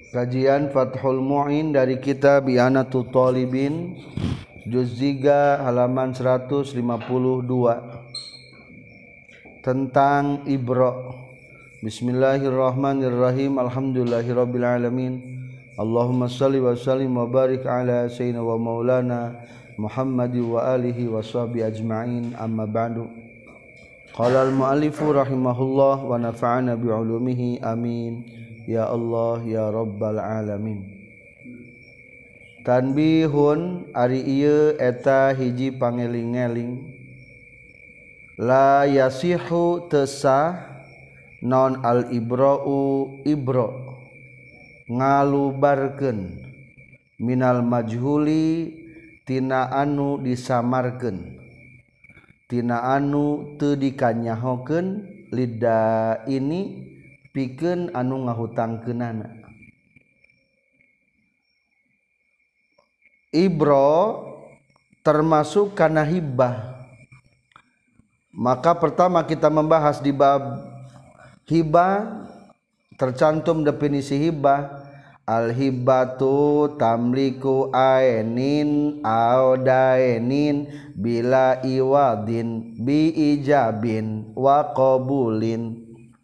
Kajian Fathul Mu'in dari kitab I'anatul Talibin juz 3 halaman 152 tentang Ibra. Bismillahirrahmanirrahim. Alhamdulillahirabbil alamin. Allahumma shalli wa sallim wa barik ala sayyidina wa maulana Muhammad wa alihi wa sahbihi ajma'in. Amma ba'du. Qala al-mu'allifu rahimahullah wa nafa'ana bi 'ulumihi amin. Ya Allah ya Rabbal alamin. Tanbihun ari ieu eta hiji pangeling-eling. La yasihu tesah non al ibra'u ibra ngalubarkeun minal majhuli tina anu disamarkeun, tina anu teu dikanyahokeun lida ini pikeun anu ngahutangkeunana. Ibro termasuk kana hibah. Maka pertama kita membahas di bab hibah, tercantum definisi hibah. Al hibatu tamliku ainin au dainin bila iwadin bi ijabin wa qabulin.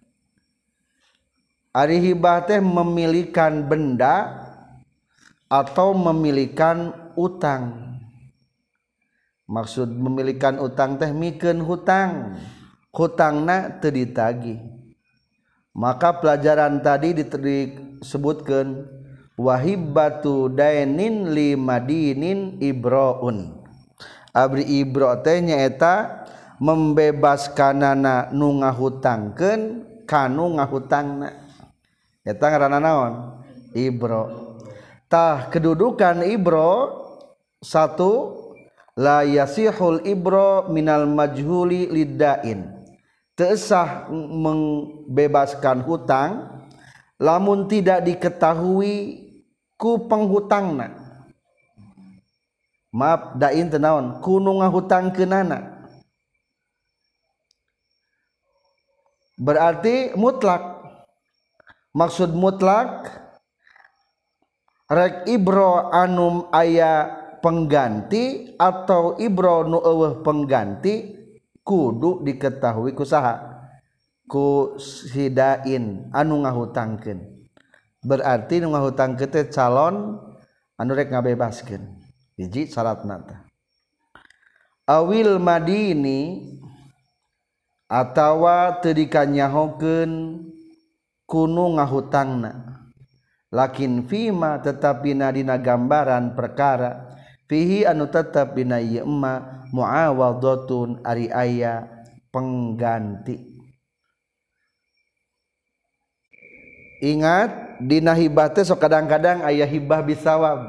Ari hibah teh memilikan benda atau memilikan utang. Maksud memilikan utang teh mikeun hutang, hutangna teu ditagih. Maka pelajaran tadi disebutkeun wahibatu dainin li madinin ibraun. Abri ibra teh nyaeta membebaskanana nu ngahutangkeun kanu ngahutangna. Eta ngaranna naon? Ibro. Tah kedudukan ibro satu, la yasihul ibro minal majhuli liddain. Teu sah membebaskan hutang lamun tidak diketahui ku penghutangna. Maaf, dain teu naon? Ku nu ngahutangkeunana. Berarti mutlak. Maksud mutlak rek ibro anu aya pengganti atau ibro nu eueuh pengganti kudu diketahui ku saha? Ku hidain anu ngahutangkeun. Berarti nu ngahutangkeun teh calon anu rek ngabebaskeun. Hiji syaratna teh. Awil madini atawa teu dikanyahokeun kunu ngahutangna. Lakin fima tetapi dina gambaran perkara fihi anu tetep dina ieu emma muawadhatun ari aya pengganti. Ingat dina hibah teh sok kadang-kadang aya hibah bisawab.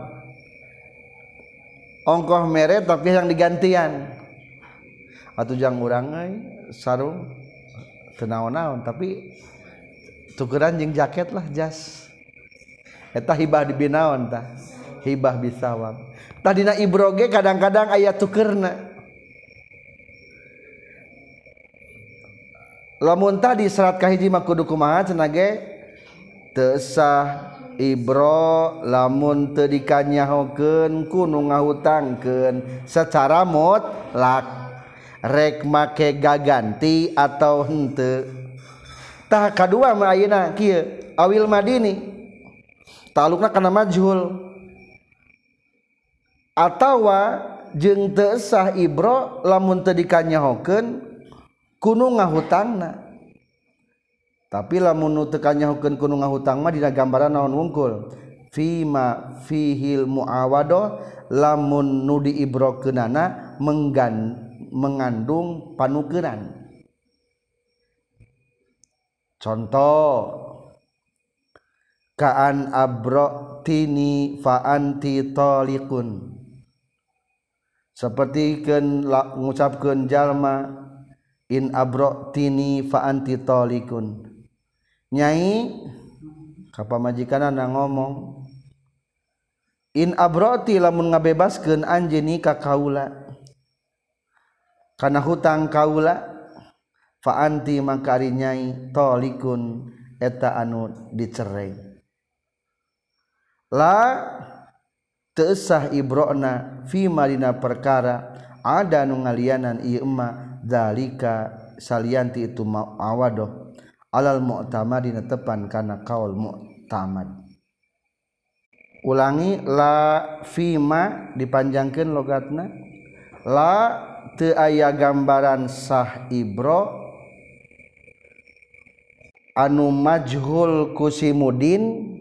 Ongkoh mere tapi yang digantian. Atuh jang urang sarung teu naon-naon tapi tukeran jeung jaket lah jas. Eta hibah dibinaon tah? Hibah bisawab. Tah dina ibro ge kadang-kadang aya tukeurna. Lamun tadi syarat kahiji mah kudu kumaha cenah ge? Teu sah ibro lamun teu dikanyahokeun ku nu ngahutangkeun secara mutlak. Rek make gaganti atau henteu. Tah kadua mah ayeuna kieu awil madini talukna kana majhul atawa jeung teu sah ibro lamun teu dikanyahokeun kunu ngahutangna. Tapi lamun nu teu kanyahokeun kunu ngahutang mah dina gambaran naon wungkul fima fihil muawadah lamun nu diibrokeunana mengandung panukeuran. Contoh kaan abrotini fa anti taliqun. Sapertikeun ngucapkeun jalma in abrotini fa anti taliqun. Nyai ka pamajikanana ngomong in abroti lamun ngabebaskeun anjeun ka kaula kana hutang kaula fa anti mangka ari nyai talikun eta anu dicerai. la teu sah ibrona fi madina perkara ada nu ngalianan ieu mah zalika salianti itu awadoh alal mu'tamadina tepan kana kaul mu'tamad. Ulangi la fima dipanjangkeun logatna la teu aya gambaran sah ibro anu majhul kusimudin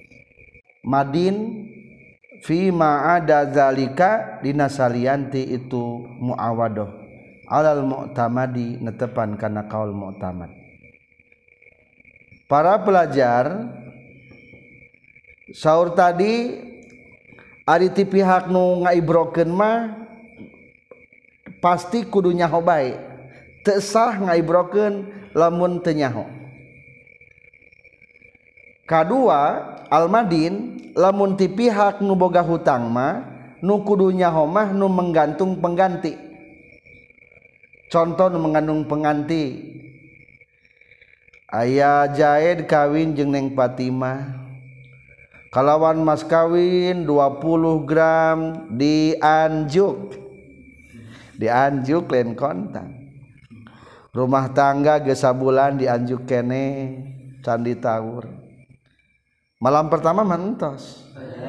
madin fima ada zalika dina salianti itu muawadoh alal mu'tamadi netepan kana kaul mu'tamad. Para pelajar saur tadi ari ti pihak nu ngaibrokeun mah pasti kudu nyaho bae teu sah ngaibrokeun lamun teu nyaho. Kadua almadin lamun ti pihak nu boga hutang mah nu kudu nyaho mah nu menggantung pengganti. Contoh nu mengandung pengganti aya Jaid kawin jeung Neng Fatimah kalawan mas kawin 20 gram dianjuk lain kontan rumah tangga geus sabulan dianjuk kene can ditawur malam pertama mantos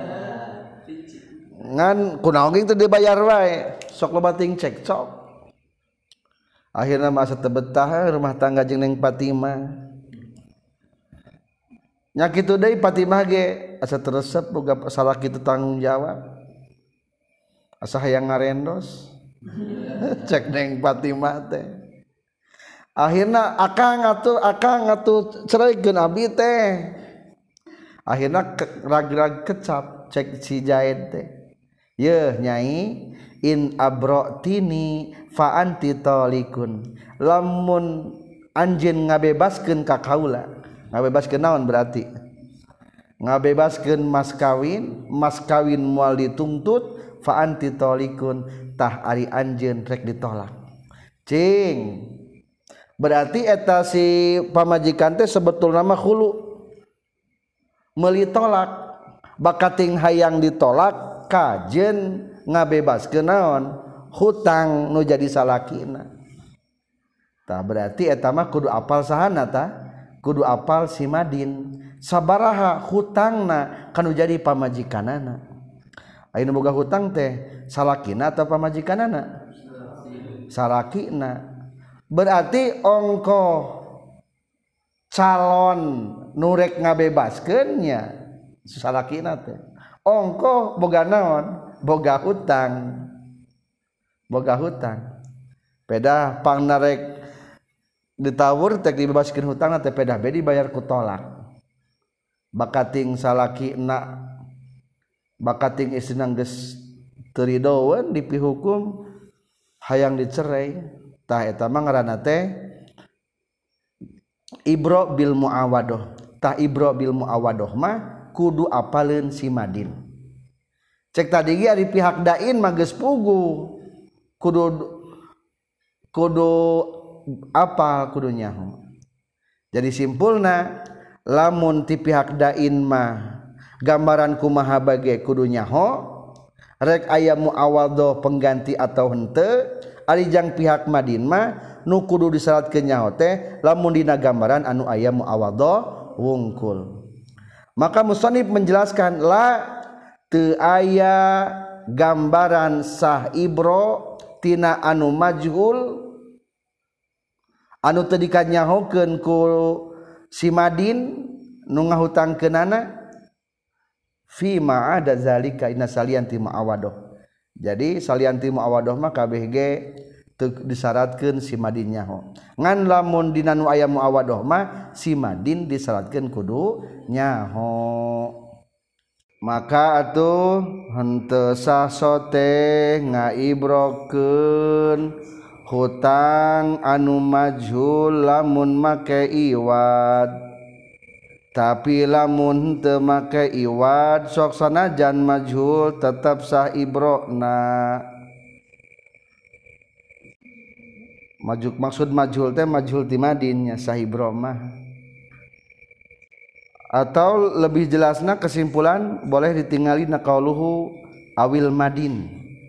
ngan kunaon teu dibayar wae sok loba ting cekcok akhirna masa teu betah rumah tangga jeung Neng Fatimah nya kitu deui Fatimah ge asa teresep boga salah kitu tanggung jawab asa hayang ngarendos cek Neng Fatimah teh akhirna akang atuh cereikeun abi teh akhirna rag-rag kecap cek si Jaid teh yeuh nyai in abrotini fa anti talikun lamun anjeun ngabebaskeun ka kaula ngabebaskeun naon berarti ngabebaskeun mas kawin moal dituntut fa anti talikun tah ari anjeun rek ditolak cing berarti eta si pamajikan teh sebetulna mah khulu meuli tolak bakating hayang ditolak kajen ngabebaskeun naon hutang nu jadi salakina tah berarti eta mah kudu apal sahana tah kudu apal si madin sabaraha hutangna kanu jadi pamajikanana ayeuna boga hutang teh salakina atau pamajikanana salakina berarti ongko calon nurek ngabebaskeunnya salakina teh ongko boga naon boga hutang peda pang narek ditawur tek dibebaskeun hutang teh pedah be dibayar ku tolak bakating salakina bakating istrina geus teu ridoeun dipihukum hayang dicerai tah eta mah ngaranna teh ibro bil muawadoh tah ibro bil muawadoh mah kudu apaleun si madin cek tadi ge ari pihak dain mah geus pugu kudu apal kudu nyaho jadi simpulna lamun ti pihak dain mah gambaran kumaha bage kudu nyaho rek aya muawadhah pengganti atau henteu ari jang pihak madin mah nu kudu disyaratkeun nyaho teh lamun dina gambaran anu aya muawadhah wungkul maka musannif menjelaskan la teu aya gambaran sah ibro tina anu majhul anu teu dikanyahokeun ku si madin nu ngahutangkeunana fi ma ada zalika inna salianti ma'awadoh jadi salianti ma'awadoh mah kabeh ge teu disyaratkeun si madin nyaho ngan lamun dina nu aya muawadoh mah si madin disyaratkeun kudu nyaho maka atuh henteu sah sote ngaibrokeun hutang anu majhul lamun make iwad tapi lamun teu make iwad sok sanajan majhul tetap sah ibrona maksud majhul teh majhul ti madinnya sah ibro mah atau lebih jelasna kesimpulan boleh ditinggali naqauluhu awil madin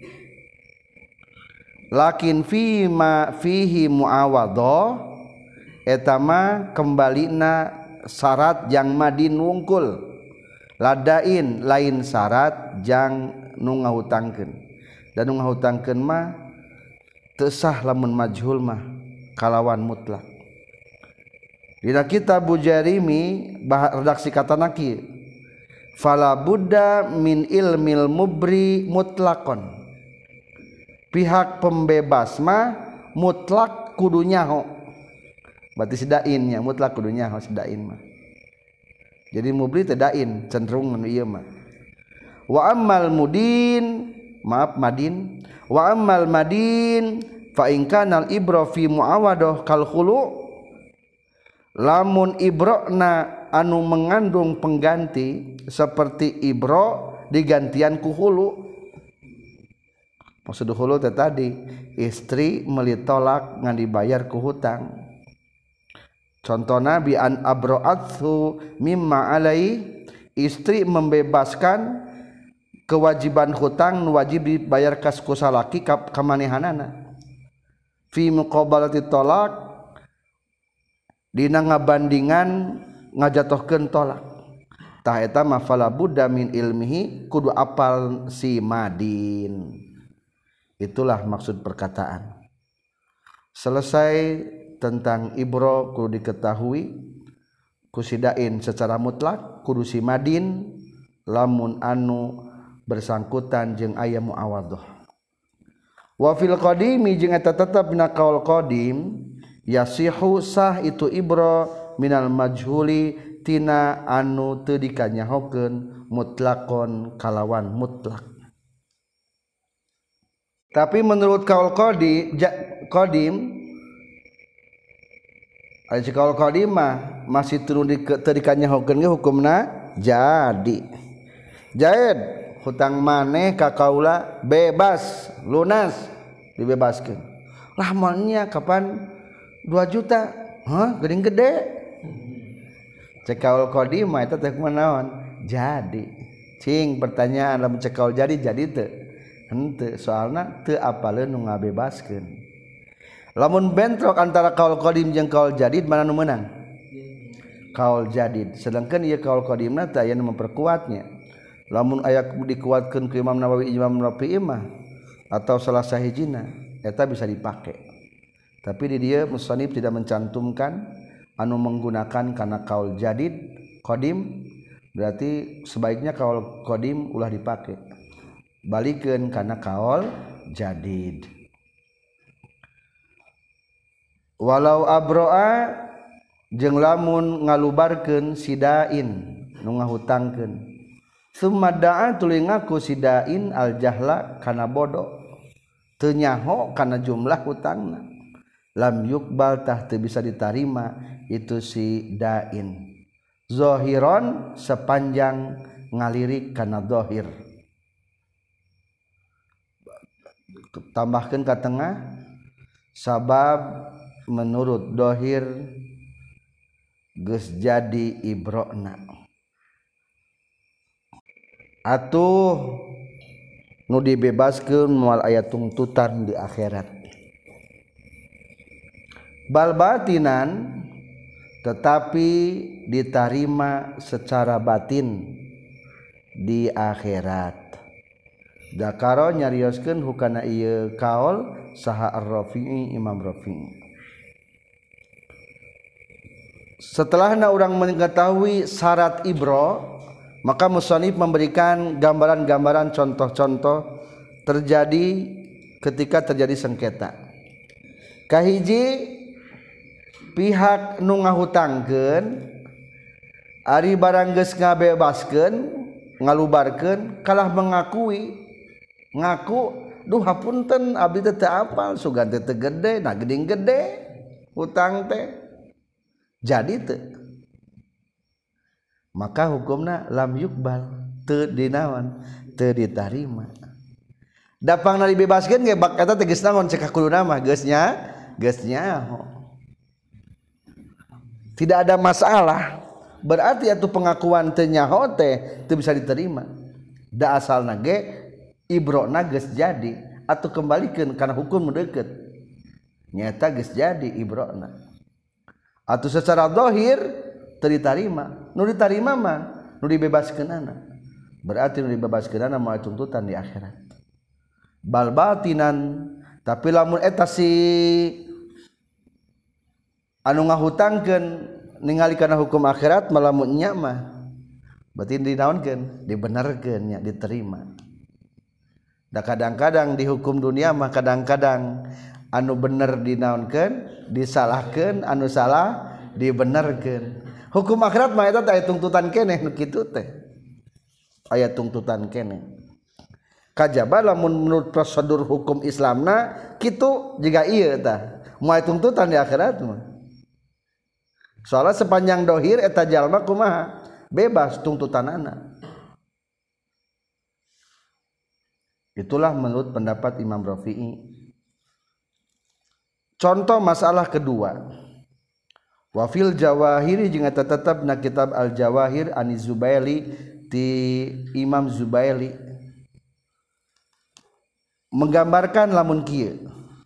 lakin fihi muawadhah eta mah kembalina syarat jang madin wungkul ladain lain syarat jang nu ngahutangkeun dan nu ngahutangkeun mah teu sah lamun majhul mah kalawan mutlak. Dina kitab Bujarimi redaksi katana kieu fala budda min ilmil mubri mutlaqon pihak pembebas mah mutlak kudu nyaho berarti sidainnya mutlak kudu nyaho sidain mah jadi mubri teh dain cenderung nu ieu mah wa ammal mudin maaf madin wa ammal madin fa in kana al ibra fi muawadah kal khulu lamun ibrona anu mengandung pengganti seperti ibro digantian ku hulu. Maksud hulu tadi istri melitolak ngan dibayar ku hutang. Contohna bi an abro'athu mimma alai istri membebaskan kewajiban hutang nu wajib dibayar ka salaki ka manehanana. Fi muqabalati talaq dina ngabandingan ngajatohkeun tolak tah eta mah fala budda min ilmihi kudu apal si madin. Itulah maksud perkataan. Selesai tentang ibro kudu diketahui kusidain secara mutlak kudu si madin lamun anu bersangkutan jeung aya muawadhah. Wa fil qadimi jeung eta tetep dina qaul qadim yasihu sah itu ibro minal majhuli tina anu teu dikanyahokeun mutlaqon kalawan mutlak. Tapi menurut kaul qadim ari kaul qadim mah masih teu dikanyahokeun ge hukumna jadi. Jaid hutang maneh ka kaula bebas lunas dibebaskeun. Lah moalnya kapan 2 juta, geuning gede. Cek kaul qadim mah eta teh kunaon? Jadi. Cing pertanyaan lamun cek kaul jadi teu? Henteu, soalna teu apaleun nu ngabebaskeun. Lamun bentrok antara kaul qadim jeung kaul jadid mana nu meunang? Kaul jadid. Sedangkan ieu kaul qadimna teh aya nu memperkuatnya. Lamun aya dikuatkeun ku Imam Nawawi Imam Rafi'i mah atau salah sahijina eta bisa dipake. Tapi di dia musannif tidak mencantumkan anu menggunakan karena kaul jadid qadim berarti sebaiknya kaul qadim ulah dipakai balikeun karena kaul jadid. Walau abroa jeung lamun ngalubarkeun sidain nu ngahutangkeun summa da'a tuluy ngaku sidain al jahla kana bodoh teu nyaho kana jumlah hutangna lam yukbal tah teu bisa diterima itu si dain zahiron sepanjang ngalirik kana zahir. Tambahkeun ka tengah sabab menurut zahir geus jadi ibrona atuh nu dibebaskeun moal aya tuntutan di akhirat. Bal batinan tetapi diterima secara batin di akhirat. Dakaro nyarioskeun hukana ieu kaul saha Ar-Rafi'i Imam Rafi'i. Setelahna urang mengetahui syarat ibro, maka musannif memberikan gambaran-gambaran contoh-contoh terjadi ketika terjadi sengketa. Kahiji pihak nu ngahutangkeun ari barang geus ngabebaskeun ngalubarkeun kalah mengakui ngaku duh hapunten abdi teh apal sugan teh gede nah geuning gede hutang teh jadi teu maka hukumna lam yukbal teu dinaon teu ditarima dapangna dibebaskeun ge bak eta teh geus naon cek kuluna mah geus nyaho tidak ada masalah berarti atuh pengakuan teu nyaho teh teu bisa diterima da asalna ge ibrona geus jadi atuh kembalikeun kana hukum deukeut nyata geus jadi ibrona atuh secara zahir teu ditarima nu ditarima mah nu dibebaskeunana berarti nu dibebaskeunana mah tuntutan di akhirat bal batinan tapi lamun eta si anu ngahutangkeun ningali kana hukum akhirat malamun nya mah berarti dinaonkeun dibenerkeun nya diterima da kadang-kadang di hukum dunia mah kadang-kadang anu bener dinaonkeun disalahkeun anu salah dibenerkeun hukum akhirat mah eta aya tuntutan keneh nu kitu teh aya tuntutan keneh kajaba lamun menurut prosedur hukum Islamna kitu jiga ieu tah moal tuntutan di akhirat mah soalnya sepanjang dohir eta jalma kumaha bebas tuntutanana itulah menurut pendapat Imam Rafi'i contoh masalah kedua wa fil jawahiri jeung eta tetepna kitab al jawahir ani Zubaili ti Imam Zubaili menggambarkan lamun kieu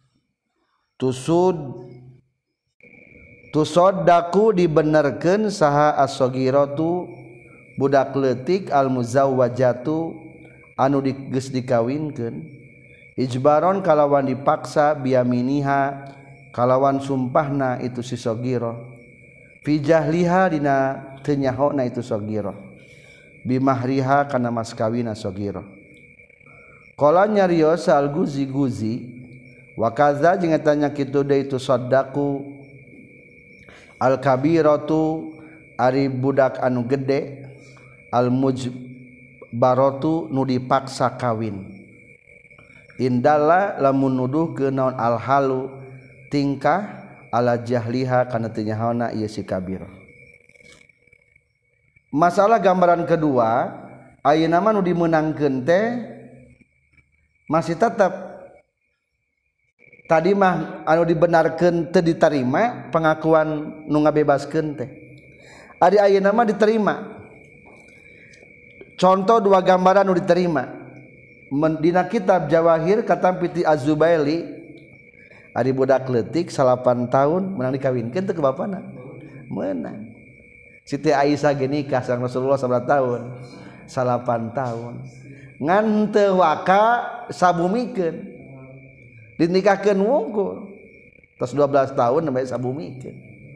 tusoddaku dibenerkeun saha as-saghiratu budak leutik al muzawwajatu anu geus dikawinkeun ijbaron kalawan dipaksa biyaminiha kalawan sumpahna itu si saghirah fi jahliha dina teu nyahona itu saghirah bimahriha kana mas kawina saghirah qala nyarios al guzi wa kaza jeung eta nya kitu deui itu saddaku al kabiratu ari budak anu gede al mujbaratu nu dipaksa kawin indalla lamun nuduhkeun naon al halu tingkah ala jahliha kana teu nyahoana ieu si kabir masalah gambaran kedua ayeuna mah nu dimeunangkeun teh masih tetap tadi mah anu dibenarkeun teu ditarima pengakuan nu ngabebaskeun teh ari ayeuna mah diterima contoh dua gambaran nu diterima dina kitab Jawahir katampi ti Az-Zubaili ari budak leutik 8 tahun menang dikawinkeun teh ke bapana meunang Siti Aisyah ge nikah sareng Rasulullah 9 tahun 8 tahun ngan teu waka sabumikeun dinikahkeun wungkul tos 12 tahun sampai sabumikeun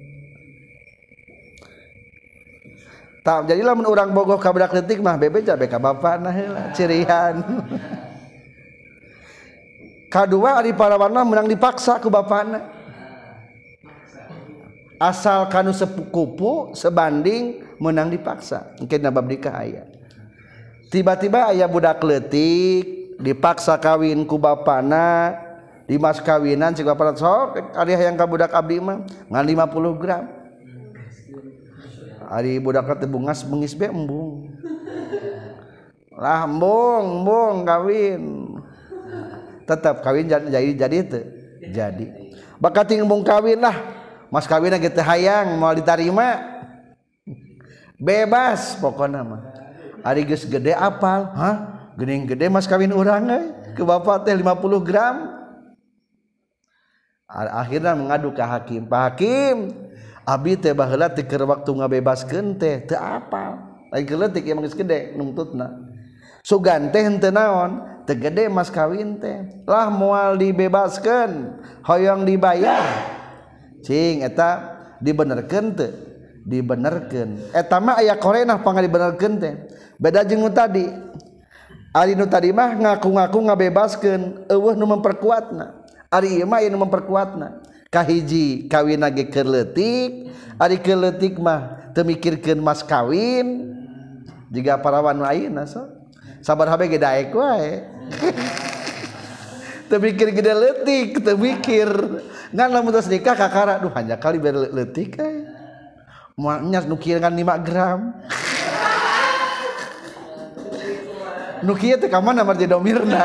tak jadi lamun urang bogoh ka budak leutik mah bebe jabe ka bapana heula cirihan kadua ari parawan mah menang dipaksa ku bapana asal kanu sepukupu sebanding menang dipaksa engke na bab nikah aya tiba-tiba aya budak leutik dipaksa kawin ku bapana di mas kawinan si bapana sok ari hayang ka budak abdi mah ngan 50 gram ari budak teh bungas beungis be embung lah embung kawin tetap kawin jadi teu jadi bakat embung kawin lah mas kawinna ge teu hayang moal ditarima bebas pokona mah ari geus gede apal geuning gede mas kawin urang ke bapak teh 50 gram akhirna mengadu ka hakim Pak Hakim abdi teh baheula teh keur waktu ngabebaskeun teh teu apal lain keleutik emang geus gede nuntutna sugan teh henteu naon teu gede mas kawin teh lah moal dibebaskeun hoyong dibayar cing eta dibenerkeun teu dibenerkeun eta mah aya korenah pangga dibenerkeun teh beda jeung nu tadi ari nu tadi mah ngaku-ngaku ngabebaskeun eueuh nu memperkuatna ari ieu mah aya nu memperkuatna kahiji kawinna ge keur leutik ari keur leutik mah teu mikirkeun mas kawin jiga parawan nu ayeuna so sabaraha ge daek wae teu mikir gede leutik teu mikir ngan lamun tos nikah kakara duh hanya kali bere leutik moal nya nu kieu ngan 5 gram nu kieu teh ka mana marji domirna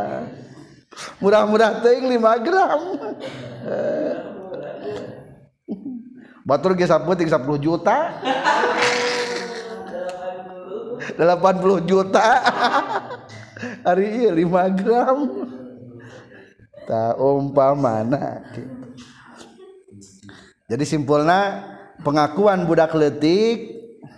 murah-murah teuing 5 gram batur ge saputing 10 juta 80 juta hari ieu 5 gram ta umpamana gitu. Jadi simpulna pengakuan budak leutik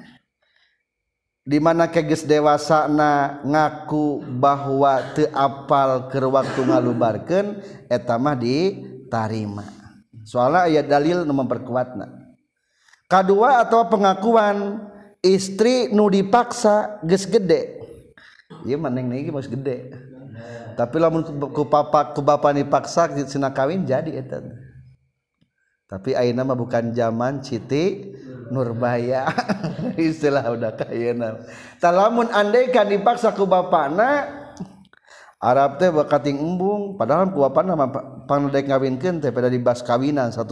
di mana keges dewasana ngaku bahwa teu apal keur waktu ngalubarkeun eta mah ditarima. Soalnya aya dalil nu memperkuatna. Kadua atau pengakuan istri nu dipaksa geus gede. Ieu maneh niki geus gede. Tapi lamun ku bapa dipaksa cenah kawin jadi eta. Tapi ayeuna mah bukan zaman Siti Nurbaya. Istilah udah kayeuna. Tah lamun andaikan dipaksa ku bapana Arab teh bakating embung padahal ku bapana mah pangdek ngawinkeun teh pada dibas kawinan 100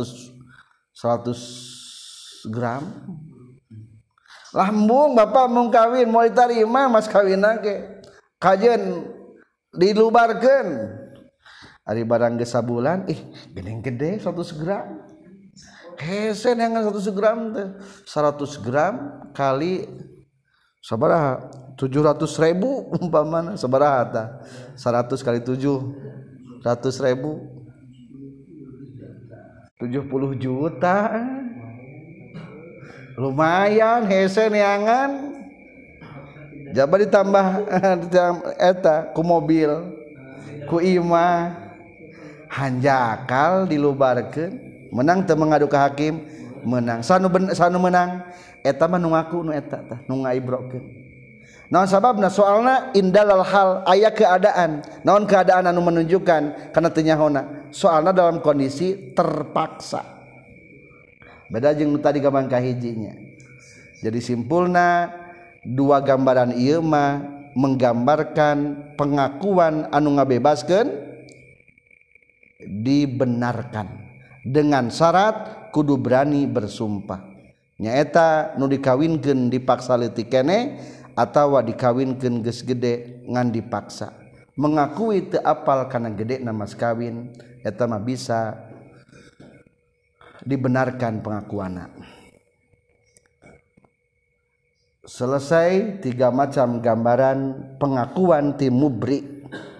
gram. Lah embung bapak mau kawin mau ditarima mas kawinan ge. Kajen dilubarkeun. Ari barang geus sabulan geuning gede 100 gram. Hese neangan 100 gram teh 100 gram kali sabaraha 700.000 umpamana sabaraha tah 100 kali 700.000 70 juta lumayan hese neangan jaba ditambah eta ku mobil ku imah hanjakal dilubarkeun menang teu mengadu ka hakim menang sanu menang eta mah nu ngaku nu eta tah nu ngaibrokeun naon sababna soalna indalal hal aya keadaan naon keadaan anu menunjukkan kana teu nyahona soalna dalam kondisi terpaksa beda jeung nu tadi gambar kahijinya. Jadi simpulna dua gambaran ieu mah menggambarkan pengakuan anu ngabebaskeun dibenarkan dengan syarat kudu berani bersumpah nyaeta nu dikawinkeun dipaksa leutik keneh atawa dikawinkeun geus gede ngan dipaksa mengakui teu apal kana gedena mas kawin eta mah bisa dibenarkan pengakuanna. Selesai 3 macam gambaran pengakuan ti mubri.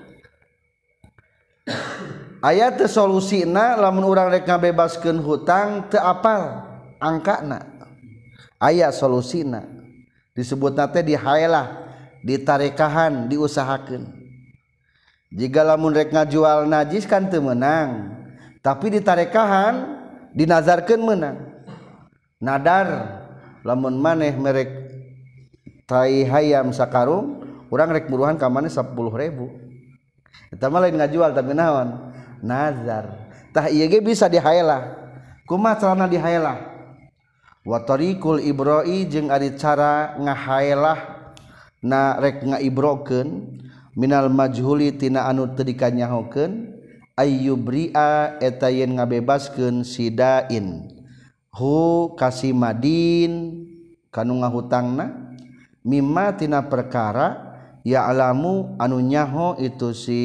Aya teu solusina lamun urang rek ngabebaskeun hutang teu apal angkana. Aya solusina. Disebutna teh dihaelah, ditarekahan, diusahakeun. Jika lamun rek ngajual najis kan teu meunang, tapi ditarekahan, dinazarkeun meunang. Nadar lamun maneh merek tai hayam sakarung, urang rek buruhan ka maneh 10.000. Eta mah lain ngajual tapi naon? Nazar. Tah ieu ge bisa dihaelah. Kumaha carana dihaelah? Wa tariqul ibra'i jeung ari cara ngahaelah na rek ngaibrokeun minal majhuli tina anu teu dikanyahokeun ayyubri'a eta yen ngabebaskeun sidain hu kasimadin kanu ngahutangna mimma tina perkara ya alamu anu nyaho itu si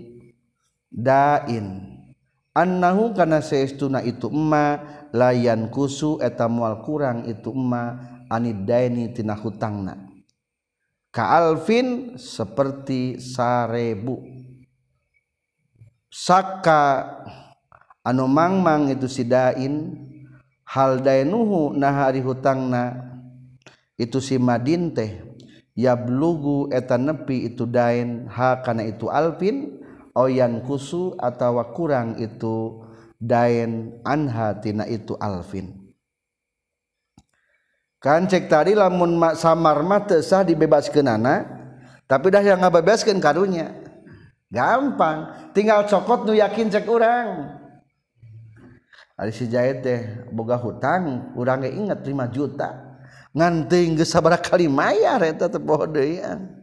dain annahu kana saestuna itu emma layan kusu eta moal kurang itu emma anid daini tina hutangna ka alfin seperti 1000 saka anu mangmang itu si dain hal dainuhu nah ari hutangna itu si madin teh yablugu eta nepi itu dain ha kana itu alfin oyan kusu atawa kurang itu dain anha tina itu alfin. Kan cek tadi lamun samar mah teu sah dibebaskeunana tapi dah yang ngabebaskeun karunya gampang tinggal cokot nu yakin cek urang ari si Jaid teh boga hutang urang ge inget 5 juta ngan teuing geus sabaraha kali mayar eta teh poho deuyan.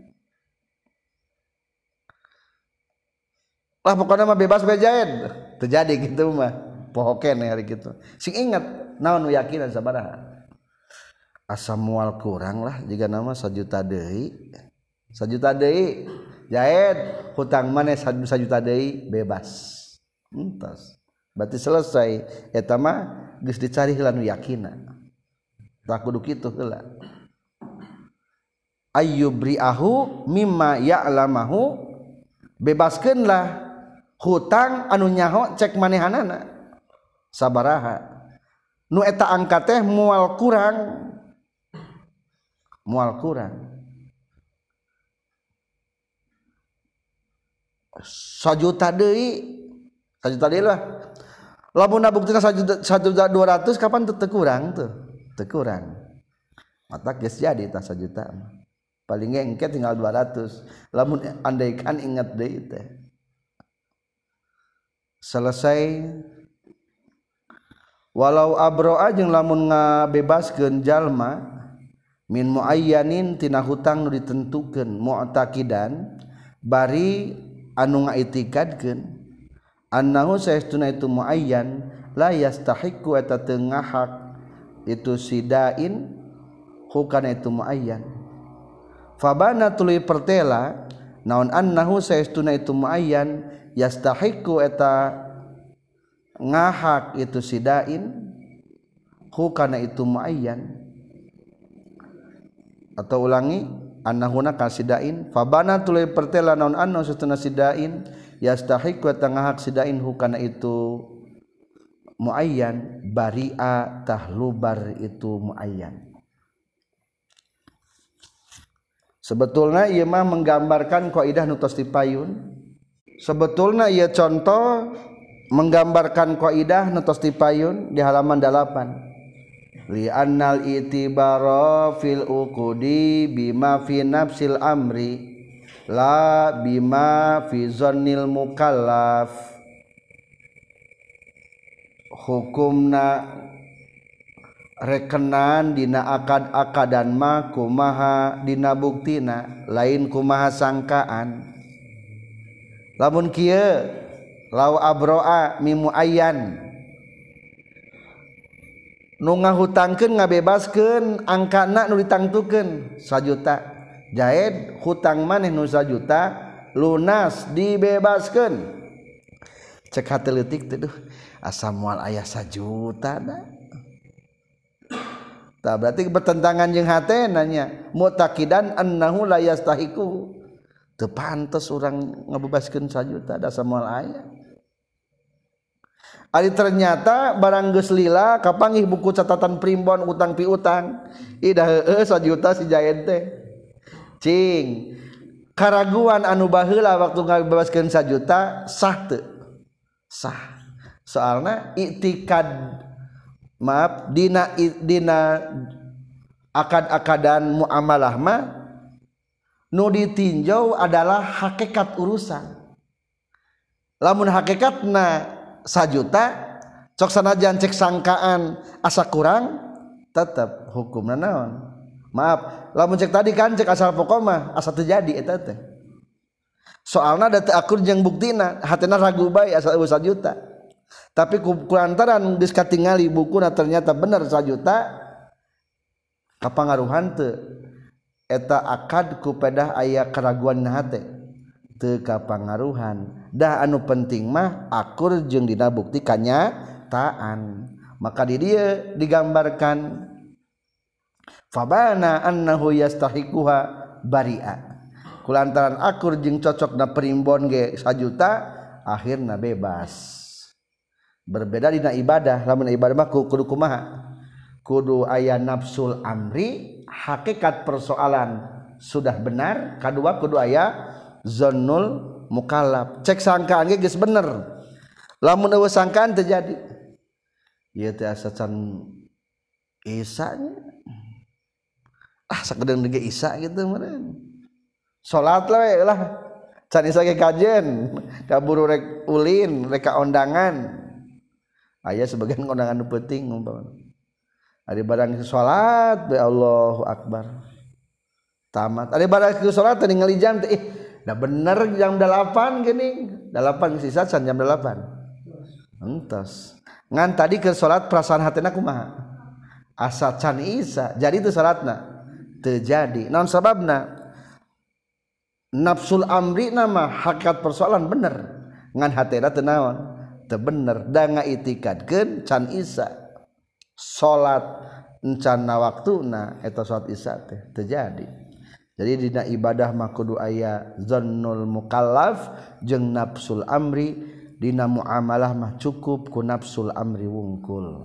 Lah pokoknya mah bebas bejain terjadi gitu mah poho keneh hari gitu sing ingat naon nu yakinan sabaraha asa moal kurang lah jika nama 1 juta deui Jaid hutang maneh 1 juta deui bebas entos berarti selesai eta mah geus dicari heula nu yakina tak kudu kitu heula ayyubriahu mimma ya'lamahu bebaskeunlah hutang anu nyaho cek manehanana sabaraha nu eta angka teh moal kurang 1 juta deui lah lamun buktina 1.200.000 kapan teu kurang mata geus jadi tah 1 juta paling engke tinggal 200 lamun andaikan ingat deui teh selesai walau abroa jeung lamun ngabebaskeun jalma min muayyanin tina hutang nu ditentukeun mu'taqidan bari anu ngaitikadkeun annahu saestuna itu muayyan la yastahiqu eta teu ngahak itu sidain hukana itu muayyan fabana tuluy pertela naon annahu saestuna itu muayyan yastahiqu eta ngahak itu sidain hukana itu muayyan atau ulangi annahuna kasidain fabana tuluy pertela naon annahu saestuna sidain yastahiqu eta ngahak sidain hukana itu muayyan bari'a tahlubar itu muayyan. Sebetulna ieu mah menggambarkan kaidah nu tos dipayun. Sebetulna ieu contoh menggambarkan kaidah nu tos dipayun di halaman 8. Li annal itibara fil uqudi bima fi nafsil amri la bima fi zannil mukallaf. Hukumna rekenan dina akad-akadan mah kumaha dina buktina lain kumaha sangkaan. Lamun kieu lau abroa mimu ayyan nu ngahutangkeun ngabebaskeun angkana nu ditangtukeun 1 juta jaed hutang maneh nu 1 juta lunas dibebaskeun cek hate leutik teh duh asa moal aya 1 juta da tah berarti bertentangan jeung hatena nya mu'taqidan annahu la yastahiqu teu pantes urang ngabebaskeun 1 juta da samoal aya. Ari ternyata barang geus lila kapanggih buku catatan primbon utang piutang ida heueuh 1 juta si jaed teh cing karaguan anu baheula waktu ngabebaskeun 1 juta sah teu sah soalna iktikad maaf dina akad-akadan muamalah mah nu ditinjau adalah hakikat urusan. Lamun hakikatna 1 juta cok sanajan cek sangkaan asa kurang tetep hukumna naon maaf lamun cek tadi kan cek asal pokok mah asa terjadi eta teh soalna da teu akur jeung buktina hatena ragu bae asa 1 juta tapi kulantaran geus katingali bukuna ternyata bener 1 juta kapangaruhan teu eta akad ku pedah aya keraguan na hate teu kapangaruhan dah anu penting mah akur jeung dina bukti kanyataan maka di dieu digambarkan fabana annahu yastahiquha bari'a kulantaran akur jeung cocokna perimbon ge 1 juta akhirna bebas. Berbeda dina ibadah lamun ibadah mah kudu kumaha kudu aya nafsul amri hakikat persoalan sudah benar kadua kudu aya zannul mukallaf cek sangkaan ge geus bener lamun eueuh sangkaan terjadi ieu teh asa can isa nya sakedeung ge isa gitu meureun salat we lah can isa ge kajen kaburu rek ulin rek kaondangan aya sebagian kondangan nu penting umpama ari barang salat be Allahu akbar tamat ari barang salat teh ningali jam teh dah bener jam 8 gini 8 sisa can jam 8 entos ngan tadi ke salat perasaan hatena kumaha asa can isa jadi itu salatna teu jadi naon sababna nafsul amri nama hakikat persoalan bener ngan hatena teu naon teu bener da ngaitikadkeun can Isya salat encan waktuna eta salat Isya teh terjadi. Jadi dina ibadah mah kudu aya zannul mukallaf jeung nafsul amri, dina muamalah mah cukup ku nafsul amri wungkul.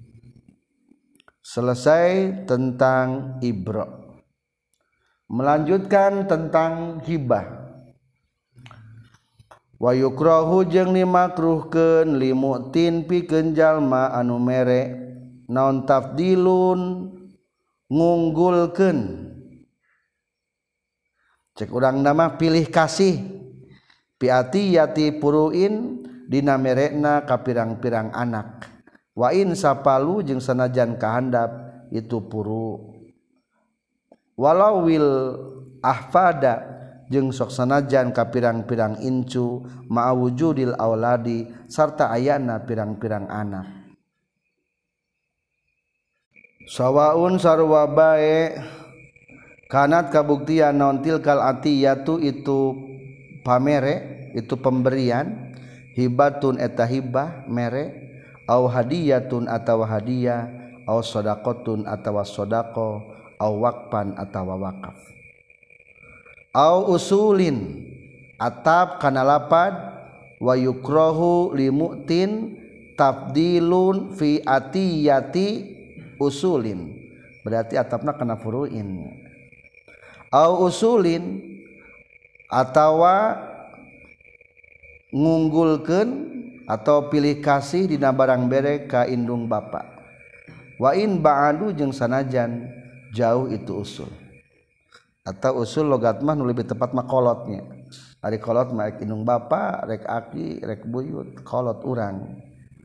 Selesai tentang ibra. Melanjutkan tentang hibah. Wa yukrahu jeung dimakruhkeun limutin pikeun jalma anu mere naon tafdilun ngunggulkeun. Cek urang nama pilih kasih piati yati puruin dina merekna ka pirang-pirang anak. Wa in sapalu jeung sanajan kahandap itu puru. Walau wil ahfada jeung sok sanajan ka pirang-pirang incu ma'wujudil auladi sarta ayana pirang-pirang anak. Sawaun sarua bae kanat kabuktian naon tilkal atiyatu itu pamere itu pemberian hibatun eta hibah mere au hadiyatun atawa hadiah au shadaqatun atawa shadaqah au waqfan atawa waqaf au usulin atap kana lapad wa yukrahu limutin tabdilun fi atiyati usulin berarti atapna kana furuin au usulin atawa ngunggulkeun atau pilih kasih dina barang bere ka indung bapa wa in ba'adu jeung sanajan jauh itu usul atau usul logat mah nu lebih tepat mah kolotnya ari kolot mah rek indung bapa rek aki rek buyut kolot urang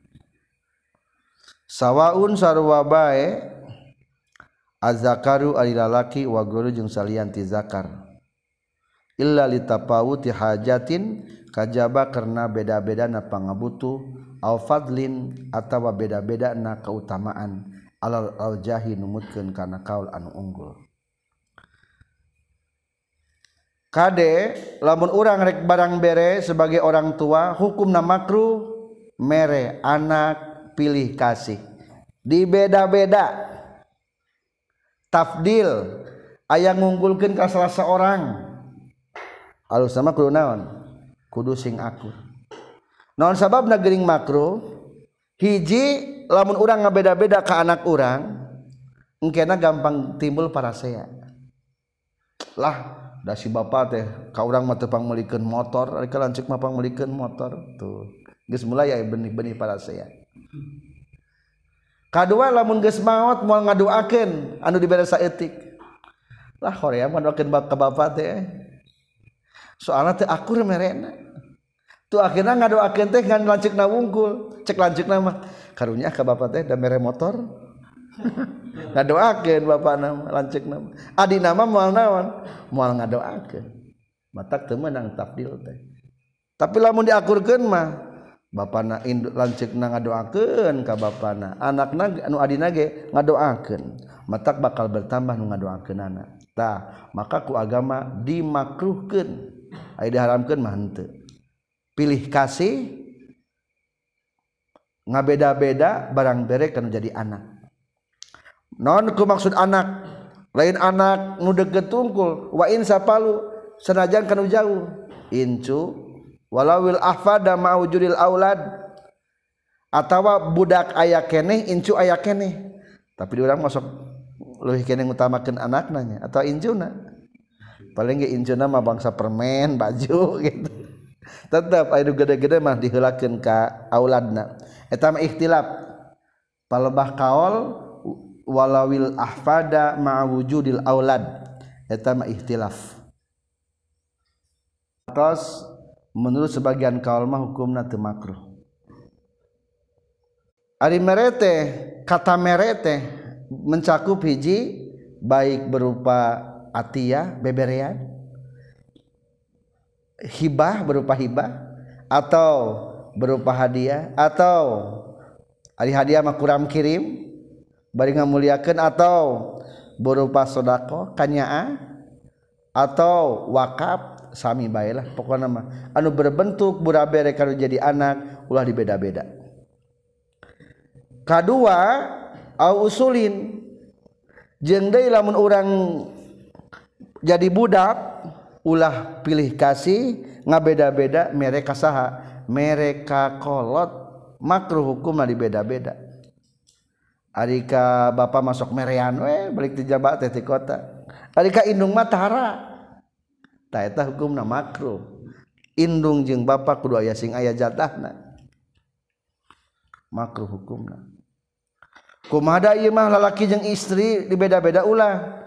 sawaun sarua bae azakaru ari lalaki wa guru jeung salian ti zakar illa litapawuti hajatin kajaba karena beda-bedana pangabutuh au fadlin atawa beda-bedana keutamaan alal aljahi numutkeun kana kaul anu unggul. Kade lamun urang rek barang bere sebagai orang tua hukumna makruh mere anak pilih kasih dibeda-beda tafdil aya ngunggulkeun ka salah seorang alus sama kudu naon kudu sing akur naon sababna geuning makruh hiji lamun urang ngabeda-beda ka anak urang engkena gampang timbul parasea lah da si bapa teh ka urang mah teu pangmeulikeun motor ari ka lanceuk mah pangmeulikeun motor tuh geus mulai aya benih-benih parasea. Kadua lamun geus maot moal ngadoakeun anu dibere saeutik lah hoream ngadoakeun ka bapa teh soalna teu akur merena tuh akhirna ngadoakeun teh ngan lanceukna wungkul cek lanceukna mah karunya ka bapa teh da mere motor ngadoakeun bapana lanceukna adina mah moal naon moal ngadoakeun matak teu meunang tafdil teh tapi lamun diakurkeun mah bapana lanceukna ngadoakeun ka bapana anakna anu adina ge ngadoakeun matak bakal bertambah nu ngadoakeunana tah maka ku agama dimakruhkeun aya diharamkeun mah henteu pilih kasih ngabeda-beda barang bere kana jadi anak non ku maksud anak lain anak nu deukeut tungkul wa in sapalu sanajan kana jauh incu walawil ahfada ma'wujudil aulad atawa budak aya keneh incu aya keneh tapi di urang masuk leuwih keneh ngutamakeun anakna nya atau incuna paling ge incuna mah bangsa permen baju gitu tetep aya gede-gede mah diheulakeun ka auladna eta mah ikhtilaf palebah kaol walawil ahfada ma'wujudil aulad eta mah ikhtilaf terus menurut sebagian kaul mah hukumna teu makruh ari merete kata merete mencakup hiji baik berupa atiyah beberean hibah berupa hibah atau berupa hadiah atau ari hadiah mah kuram kirim bari ngamuliakeun atau berupa sedekah kanyaah atau wakaf sami bae lah pokokna mah anu berbentuk burabere kalau jadi anak ulah dibeda-beda. Kadua au usulin jeung deui lamun urang jadi budak ulah pilih kasih ngabeda-beda mereka saha mereka kolot makruh hukumna dibeda-beda. Arika bapak masuk merean we balik di jabat teh ti kota. Arika indung mah tara. Tah eta hukumna makruh. Indung jeung bapak kudu aya sing aya jatahna. Makruh hukumna. Kumaha ieu mah lalaki jeung istri dibeda-beda ulah.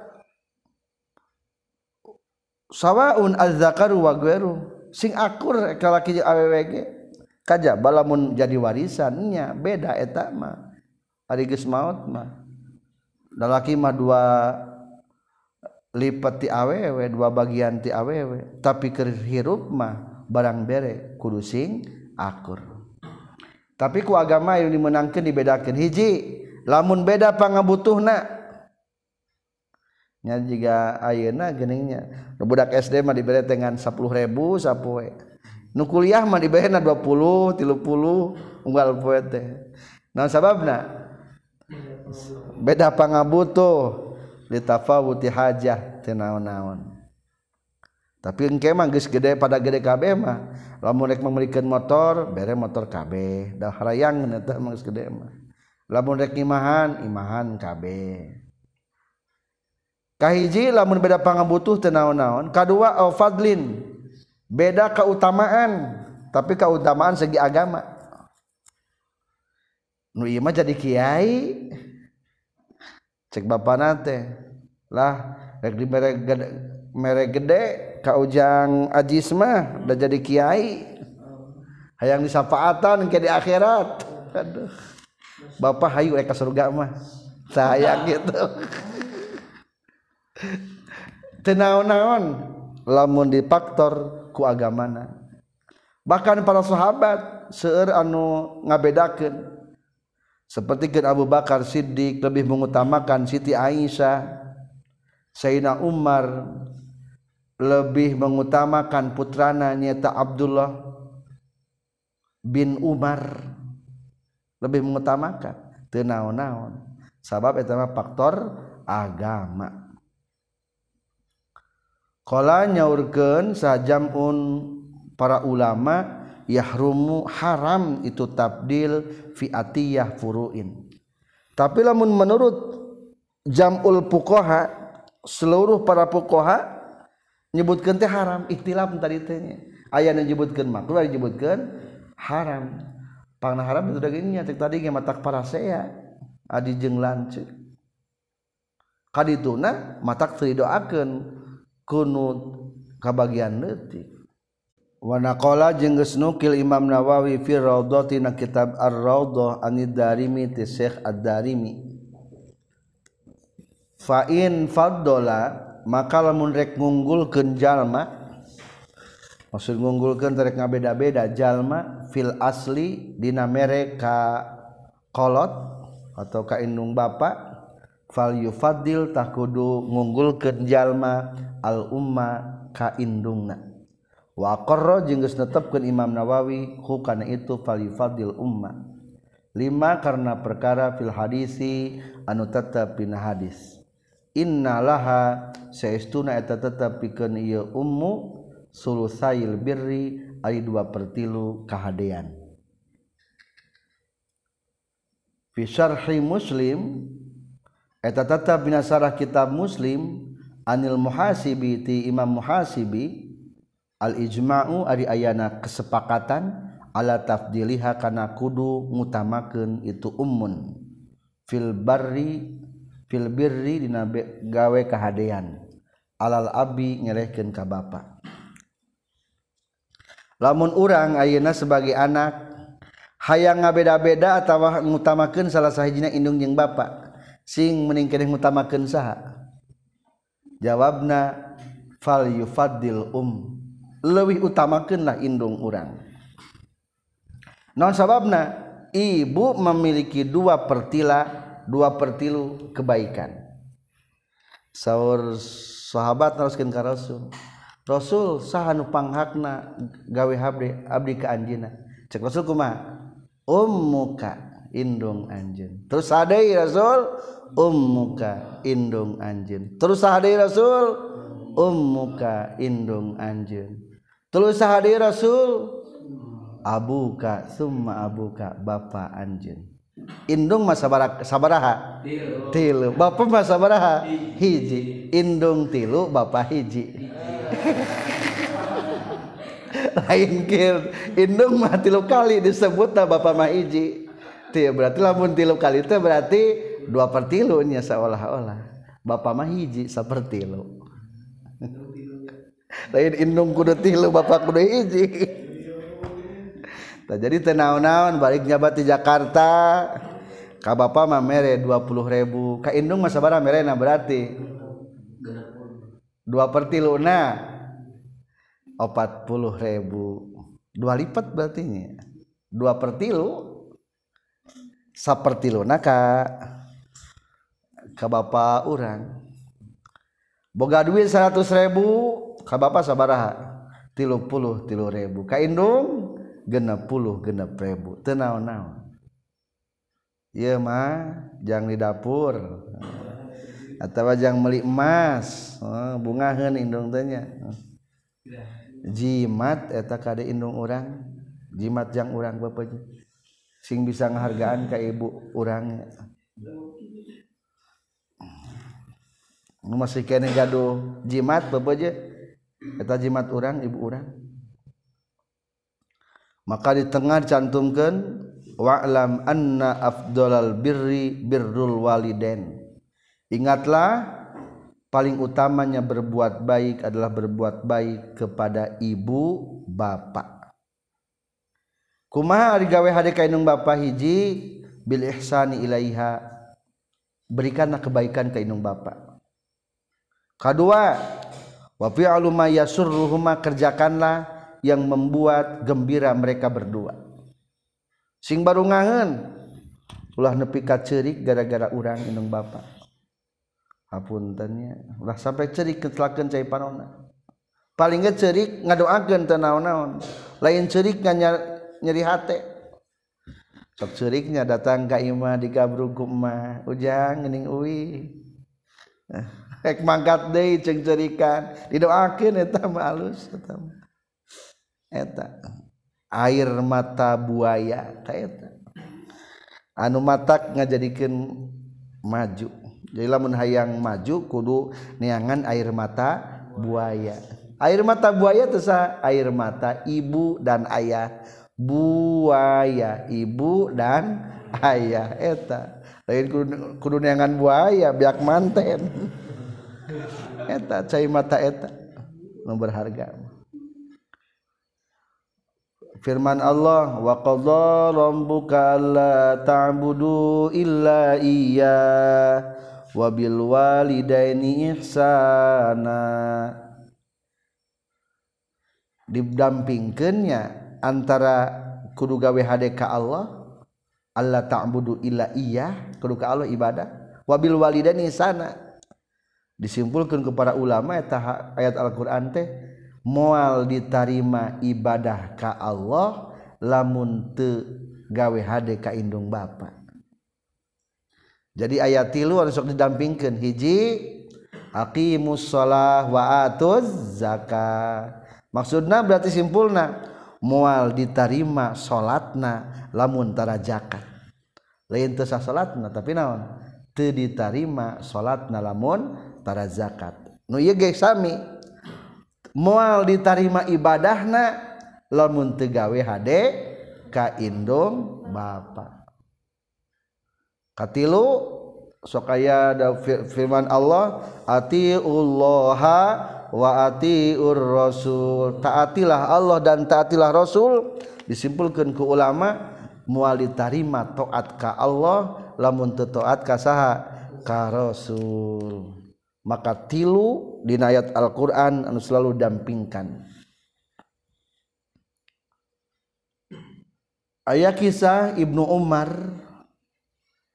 Sawaun az-zakaru wa ghairu. Sing akur lalaki jeung awewe ge kajaba lamun jadi warisannya beda eta mah. Ari geus maot mah. Lalaki mah dua lipat ti awewe, dua bagian ti awewe, tapi keur hirup mah barang bere kudu sing akur. Tapi ku agama yang dimenangkeun dibedakeun hiji lamun beda pangabutuhna nya jiga ayeuna geuninnya budak SD mah dibere dengan 10.000 sapoe nu kuliah mah diberena 20 30 unggal poe teh naon sababna beda pangabutuh litafawuti hajah teu naon-naon tapi engke mah geus gede pada gede kabeh mah lamun rek memerikeun motor bere motor kabeh dah harayang eta mah geus gede mah lamun rek imahan kabeh kahiji lamun beda pangabutuh teu naon-naon kadua au fadlin beda keutamaan tapi keutamaan segi agama nu ieu mah jadi kiai cek bapana teh lah rek di mere gede ka ujang ajis mah da jadi kiai hayang disafaatan ke di akhirat aduh bapak hayu rek ka surga mah sayang gitu teu naon-naon lamun dipaktor ku agamana bahkan para sahabat seueur anu ngabedakeun seperti Abu Bakar Siddiq lebih mengutamakan Siti Aisyah, Sayyidina Umar lebih mengutamakan putrana nyata Abdullah bin Umar lebih mengutamakan teu naon-naon sabab eta mah faktor agama. Qala nyaurkeun sajamun para ulama yahrumu haram itu tabdil fi atiyah furuin. Tapi lamun menurut jamul fuqaha seluruh para fuqaha nyebutkeun teh haram ikhtilaf tadi teh nya. Aya nu nyebutkeun makruh aya nyebutkeun haram. Pangna haram itu dagingnya cek tadi ge matak parasea adi jeung lanceuk. Kadituna matak teu didoakeun kunut kabagian leutik. Wa naqala jeung geus nukil Imam Nawawi fi Raudhati na kitab Ar-Raudhah An-Darimi ti Syekh Ad-Darimi fa in faddala maka lamun rek ngunggulkeun jalma maksud ngunggulkeun rek ngabeda-beda jalma fil asli dina mere ka kolot atau ka indung bapa fal yufaddil tah kudu ngunggulkeun jalma al umma ka indungna wa aqarra jeung geus netepkeun Imam Nawawi hukana itu fal yufadil umma 5 karena perkara fil hadisi anu tetep dina hadis innalaha saestuna eta tetep pikeun ieu ummu sulusail birri ari 2/3 kahadean fi syarhi Muslim eta tetep dina sarah kitab Muslim anil muhasibi ti Imam Muhasibi al ijma'u ari ayana kesepakatan ala tafdiliha kana kudu ngutamakeun itu ummun fil birri dina gawe kahadean alal abi nyerehkeun ka bapa lamun urang ayeuna sebagai anak hayang ngabeda-beda atawa ngutamakeun salah sahijina indung jeung bapa sing mending keneh ngutamakeun saha jawabna fal yufaddil leuwih utamakeunlah indung urang. Naon sababna? Ibu memiliki 2/3 kebaikan. Saur sahabat naroskeun ka Rasul. Rasul saha nu panghakna gawe abdi ka anjeunna cek Rasul kumaha ummuka indung anjeun terus saha deui Rasul ummuka indung anjeun terus saha deui Rasul ummuka indung anjeun terus saha deui Rasul abuka summa abuka bapa anjeun indung mah sabaraha tilu bapa mah sabaraha hiji indung tilu bapa hiji lain kieu indung mah tilu kali disebutna bapa mah hiji teu berarti lamun tilu kali teh berarti 2/3 nya seolah-olah bapa mah hiji 1/3 lain indung kudu tilu bapa kudu hiji. Jadi teu naon-naon balik nyabat di Jakarta ka bapa mah mere 20.000 ka indung mah sabaraha merena berarti 2/3 40.000 2 lipat berarti nya 2/3 1/3 ka bapa urang boga duit 100.000 ka bapa sabaraha 33.000 ka indung 60.000 teu naon-naon ieu mah jang di dapur atawa jang meuli emas bungaheun indung teh nya jimat eta kade indung urang jimat jang urang bapak sing bisa ngahargaan ka ibu urang nu masih kene gaduh jimat bapak eta jimat urang ibu urang maka di tengah dicantumkan wa'lam anna afdalal birri birrul walidain ingatlah paling utamanya berbuat baik adalah berbuat baik kepada ibu bapa kumaha ari gawe hade ka indung bapa hiji bil ihsani ilaiha berikanlah kebaikan ka indung bapa kadua wa fi'lu ma yasurruhuma kerjakanlah yang membuat gembira mereka berdua sing baru ngangen ulah nepi ka ceurik gara-gara urang indung bapa hapuntennya ulah sampai ceurik ketelakeun cai panonna paling ge ceurik ngadoakeun teu naon-naon lain ceurik nyeri hate sok ceuriknya datang ka imah digabrug ku emah ujang geuning uwi rek mangkat deui ceung ceurikan didoakeun eta mah alus eta mah eta air mata buaya ka eta anu matak ngajadikeun maju jadi lamun hayang maju kudu neangan air mata buaya teh air mata ibu dan ayah buaya ibu dan ayah eta lain kudu neangan buaya biak manten eta cai mata eta nu berharga firman Allah wa qadha rabbuka alla ta'budu illa iyyah wa bil walidaini ihsana didampingkeunnya antara kudu gawe hade ka Allah alla ta'budu illa iyyah kudu ka Allah ibadah wa bil walidaini ihsana disimpulkeun ku para ulama eta ayat Al-Qur'an teh moal ditarima ibadah ka Allah lamun teu gawe hade ka indung bapa jadi ayat 3 anu sok didampingkeun hiji aqimus shalah wa atuz zakat maksudna berarti simpulna moal ditarima salatna lamun tara zakat lain teu sah salatna tapi naon teu ditarima salatna lamun tara zakat nu ieu ge sami moal ditarima ibadahna lamun teu gawe hade ka indung bapa katilu sok aya da firman Allah atiullaha wa atiur rasul taatilah Allah dan taatilah Rasul disimpulkeun ku ulama moal ditarima taat ka Allah lamun teu taat ka saha ka Rasul maka tilu dina ayat Al-Qur'an anu selalu dampingkan aya kisah Ibnu Umar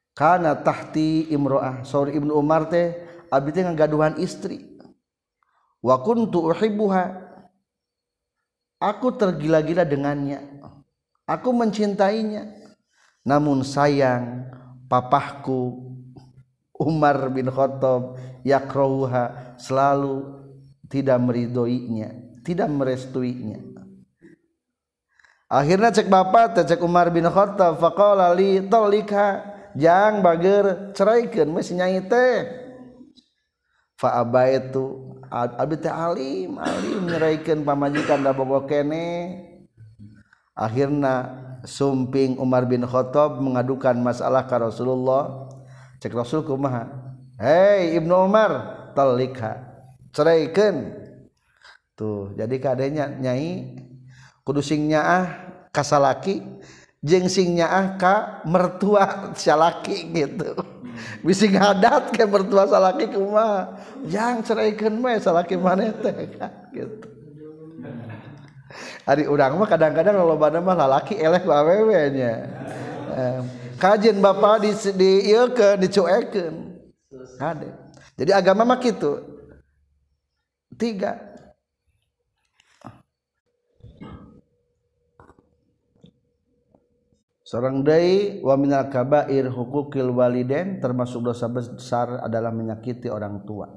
kana tahti imro'ah saur Ibnu Umar teh abdi teh ngagaduhan istri wa kuntu uhibbuha, aku tergila-gila dengannya, aku mencintainya, namun sayang papahku Umar bin Khattab yakrahuha, selalu tidak meridhoinya, tidak merestuinya. Akhirnya cek bapak cek Umar bin Khattab, faqala li talikha, jang bager ceraikeun meuh nyai teh. Fa abaitu, abi teh alim nyeraikeun pamajikan da bogo kene. Akhirna sumping Umar bin Khattab mengadukan masalah ka Rasulullah. Cek Rasul kumaha, hei Ibnu Umar, talikha, ceraikeun. Tuh jadi kadenya nyai kudu sing nyaah ka salaki jeung sing nyaah ka mertua salaki gitu. Bisi ngadat ke mertua salaki kumaha, jang ceraikeun mah salaki maneh teh gitu. Ari urang mah kadang-kadang lolobana mah lalaki eleh ku awewe nya. Kajen bapak di ieu ke dicuekeun. Kade. Jadi agama mah kitu. 3. Sareng deui wa minal kabair huquqil walidain, termasuk dosa besar adalah menyakiti orang tua.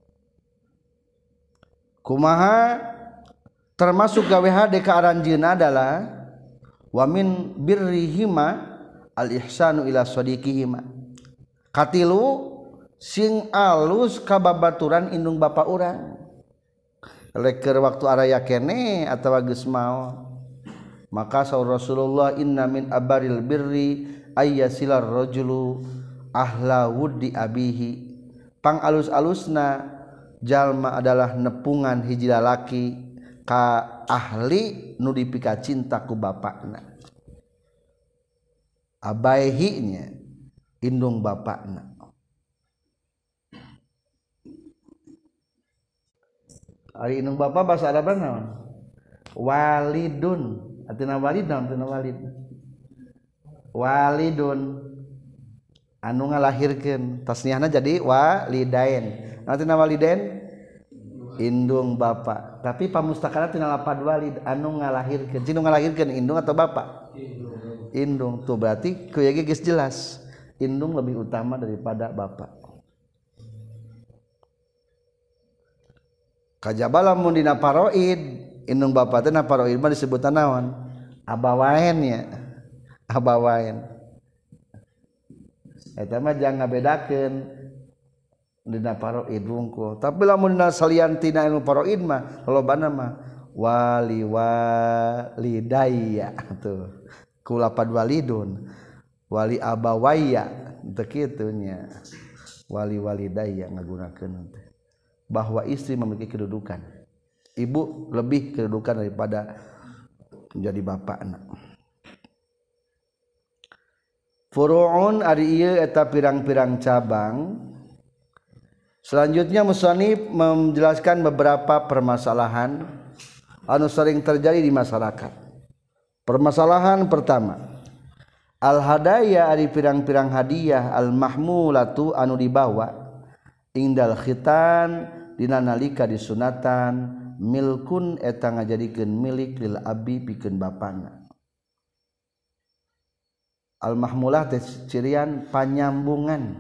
Kumaha termasuk gawe hade ka aranjeunna adalah wa min birrihima al ihsanu ila sadiqihima. Katilu sing alus ka babaturan indung bapa urang. Leker waktu araya kene atawa geus maot. Maka saur Rasulullah, inna min abaril birri ayyasilar rajulu ahla wuddi abihi. Pang alus-alusna jalma adalah nepungan hiji lalaki ka ahli nu dipika cinta ku bapakna. Abaihinya indung bapakna. Ari indung bapak bahasa Arabna naon? Walidun. Atina walid naon? Atina walid. Walidun anu ngalahirkeun. Tasniahna jadi walidain. Atina walidain indung bapak. Tapi pamustakana tina lapad walid anu ngalahirkeun. Cinu ngalahirkeun indung atau bapak? Indung. Tuh berarti ku ge geus jelas. Indung lebih utama daripada bapak. Kajaba lamun dina paroid indung bapa teh na paroid mah disebutna naon? Abawain nya. Abawain. Eta mah jangan ngabedakeun dina paroid wungkul. Tapi lamun dina salian tina ilmu paroid mah lolobana mah wali walidayya tuh. Ku lapad walidun. Wali abawayya teu kitu nya. Wali walidayya ngagunakeun teh. Bahwa istri memiliki kedudukan, ibu lebih kedudukan daripada menjadi bapak anak. Furu'un ari ieu eta pirang-pirang cabang. Selanjutnya musannif menjelaskan beberapa permasalahan anu sering terjadi di masyarakat. Permasalahan pertama, al hadaya ari pirang-pirang hadiah al mahmulatu anu dibawa indal khitan dina nalika disunatan milkun eta ngajadikeun milik lil abi pikeun bapana. Al mahmulah teh cirian panyambungan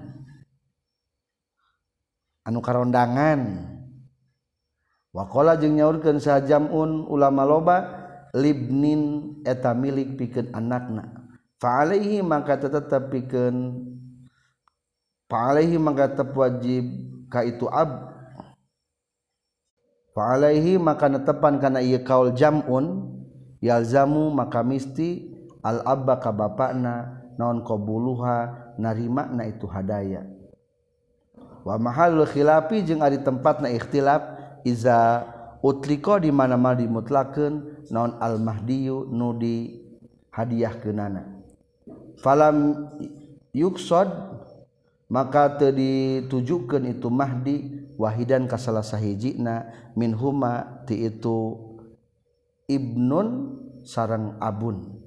anu karondangan. Wa qala jeung nyaurkeun sajamun ulama loba libnin eta milik pikeun anakna. Fa alaihi maka tetep pikeun fa alaihi maka tetep wajib ka itu ab. Fa alaihi maka netepan kana ieu kaul jam'un yalzamu maka misti al abba ka bapana naon qabuluha narimana itu hadaya. Wa mahallul khilafi jeung ari tempatna ikhtilaf iza utlika di mana-mana dimutlakeun naon al mahdiyu nu di hadiahkeunana. Falam yuksad maka teu ditujukeun itu mahdi wahidan ka salah sahijina minhuma ti itu ibnun sareng abun.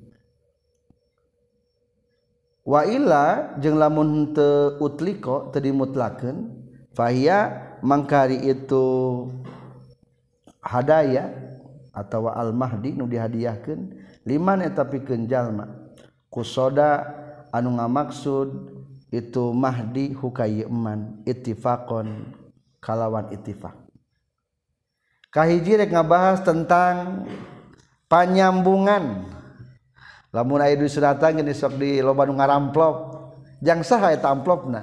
Wa illa jeung lamun teu utliko teu dimutlakeun fahiya mangkari itu hadaya atau al-mahdi nu dihadiahkeun liman eta pikeun jalma kusoda anu ngamaksud itu mahdi hukai eman ittifaqon kalawan ittifaq. Kahiji rek ngabahas tentang panyambungan. Lamun aya di suratan geus sok di loba nu ngaramplop, jang saha eta amplopna.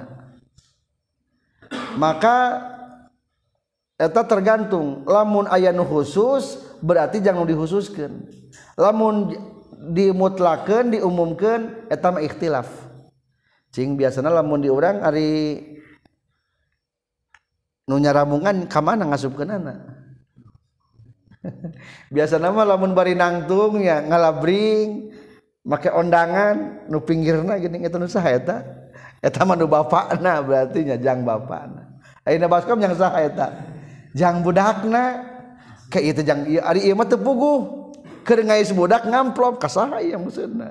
Maka eta tergantung, lamun aya nu khusus berarti jang nu dikhususkeun. Lamun dimutlakeun diumumkeun eta mah ikhtilaf. Cing biasana lamun di urang ari nu nyaramungan ka mana ngasupkeunana. Biasana mah lamun bari nangtung ya ngalabring make ondangan nu pinggirna geuning eta nu saha eta? Eta mah nu bapakna berarti nya jang bapakna. Ayeuna baskom jang saha eta? Jang budakna. Ka ieu teh jang ieu ari ieu mah teu puguh. Keur ngais budak ngamplop ka saha ieu maksudna.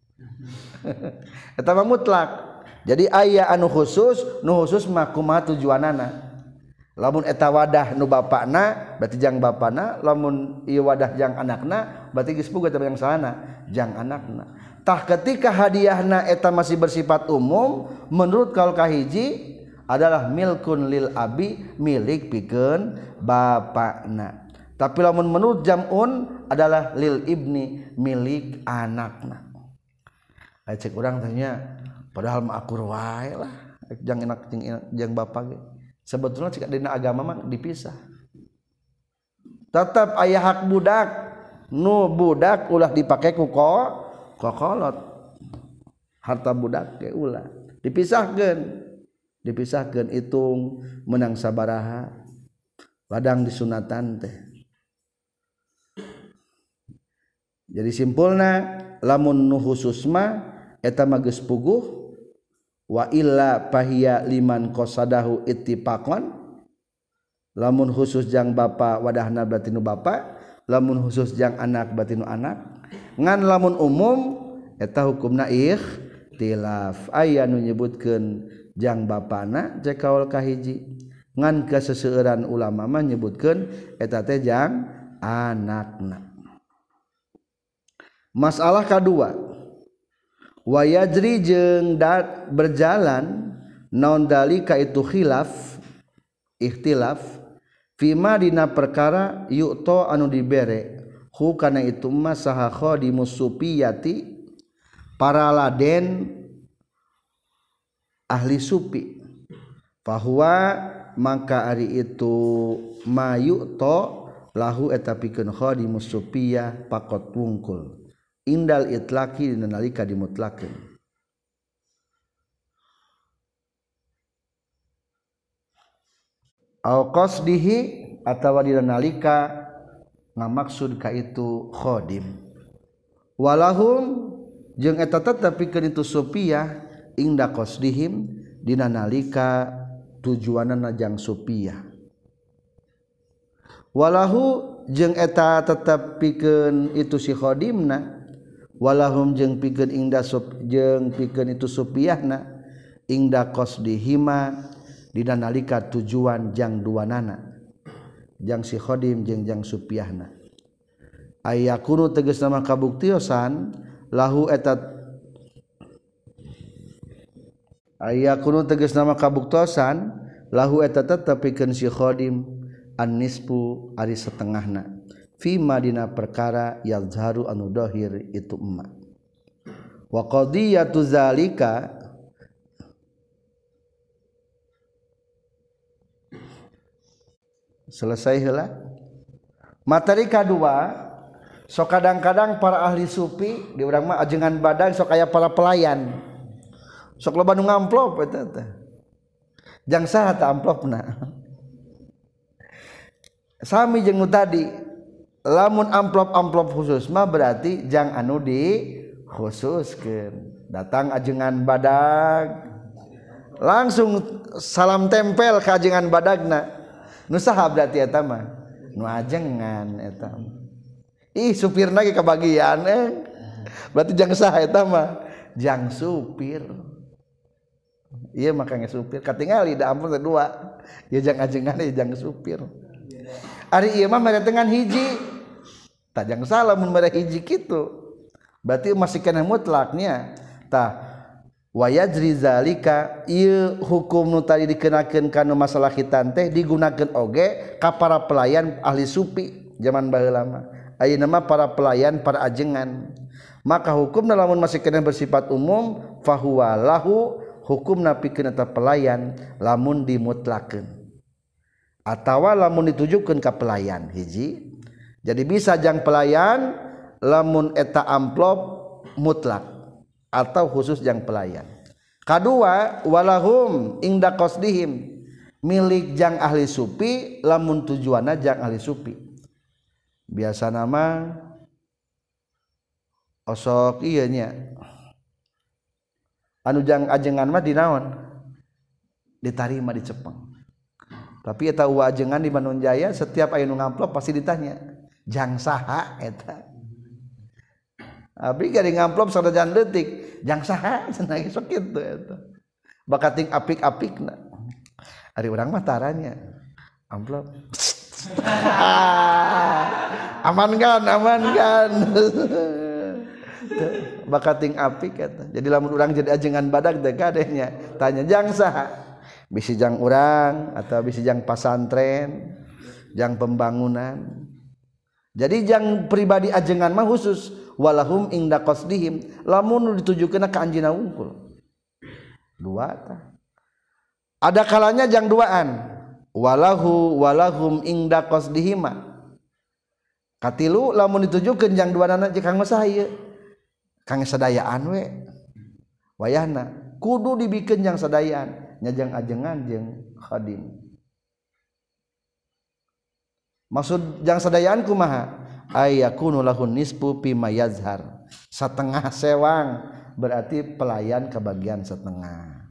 Eta mah mutlak. Jadi aya anu khusus, nu khusus mah kumaha tujuanana. Lamun eta wadah nu bapakna berarti jang bapana, lamun ieu wadah jang anakna berarti geus puguh eta yang salahna jang anakna. Tah ketika hadiahna eta masih bersifat umum menurut kaul kahiji adalah milkun lil abi milik pikeun bapakna. Tapi lamun menurut jam'un adalah lil ibni milik anakna. Aya cek urang tanya padahal mah akur wae lah jang enak jang bapak ge. Sebetulnya jika dina agama mah dipisah. Tetap aya hak budak, nu budak ulah dipake ku kokolot. Harta budak ge ulah dipisahkeun. Dipisahkeun hitung menang sabaraha. Ladang disunatan teh. Jadi simpulna lamun nu khusus mah eta mah geus puguh. Wa illa pahiya liman qasadahu ittifaqan lamun khusus jang bapa wadahna berarti nu bapa lamun khusus jang anak berarti nu anak ngan lamun umum eta hukumna ikhtilaf aya nu nyebutkeun jang bapana cek kaul kahiji ngan kaseseueuran ulama mah nyebutkeun eta teh jang anakna. Masalah kadua wa yajri jeung berjalan naon dalika itu khilaf ikhtilaf fima dina perkara yu'to anu dibere hu kana itu mah saha khadimus supiyati para laden ahli supi fahuwa maka ari itu mayu'to lahu eta pikeun khadimus supiyah pakot wungkul indal itlaqi dina nalika dimutlakeun. Au qasdihi atawa dina nalika ngamaksud ka itu khadim. Walahum jeung eta tetep pikeun itu supiyah inda qasdihim dina nalika tujuanna jang supiyah. Walahu jeung eta tetep pikeun itu si khadimna walahum jeung pikeun ingda jeung pikeun itu supiyahna ingda qasdihima dina nalika tujuan jang duanana jang si khadim jeung jang supiyahna ayakunu tegasna mah kabuktiosan lahu eta ayakunu tegasna mah kabuktosan lahu eta tetep pikeun si khadim an-nisfu ari setengahna fima dina perkara yazharu anu dohir itu emma wa qadiyatu zalika selesai heula materi kadua sok kadang-kadang para ahli sufi di urang mah ajengan badan sok aya para pelayan sok loba nu ngamplop eta teh jang saha teh amplopna sami jeung nu tadi lamun amplop khusus mah berarti jang anu di khususkeun datang ajengan badag langsung salam tempel ka ajengan badagna nu saha berarti eta mah nu ajengan eta ih supirna ge kabagian berarti jang saha eta mah jang supir ieu makanya supir katingali da ampun teh dua ieu jang ajengan ieu jang supir ari ieu mah mere dengan hiji tajang salah mun mere hiji kitu berarti masih kena mutlaknya tah wa yajri zalika ieu hukum nu tadi dikenakeun kana masalah khitan teh digunakeun oge ka para pelayan ahli supi zaman baheula mah ayeuna mah para pelayan para ajengan maka hukumna lamun masih kena bersifat umum fahuwa lahu hukumna pikeun eta pelayan lamun dimutlakeun atawa lamun ditujukeun ka pelayan hiji jadi bisa jang pelayan lamun eta amplop mutlak atau khusus jang pelayan. Kadua walahum ingda qasdihim milik jang ahli supi lamun tujuanna jang ahli supi. Biasa nama osok ieu nya. Anu jang ajengan mah dinaon? Ditarima di Cepeng. Tapi eta ajengan di Bandung Jaya setiap aya nu ngamplop pasti ditanya, "Jang saha eta?" Abdi gari ngamplop sadajan leutik jang saha cenah sok kitu eta bakating apik-apikna ari urang mah taranya amplop aman kan bakating apik eta jadi lamun urang jadi ajengan badag teh kadehnya tanya jang saha bisi jang urang atau bisi jang pasantren jang pembangunan jadi jang pribadi ajengan mah khusus walahum inda qasdihim lamun ditujukeun ka anjeunna wungkul dua tah ada kalanya jang duaan walahum inda qasdihim katilu lamun ditujukeun jang duanana jeung kang saha kang sadayaan we wayahna kudu dibikeun jang sadayaan nya jang ajengan jeung khadim maksud jang sadayaan kumaha ayakunu lahun nisfu fi mayazhar setengah sewang berarti pelayan kebagian setengah.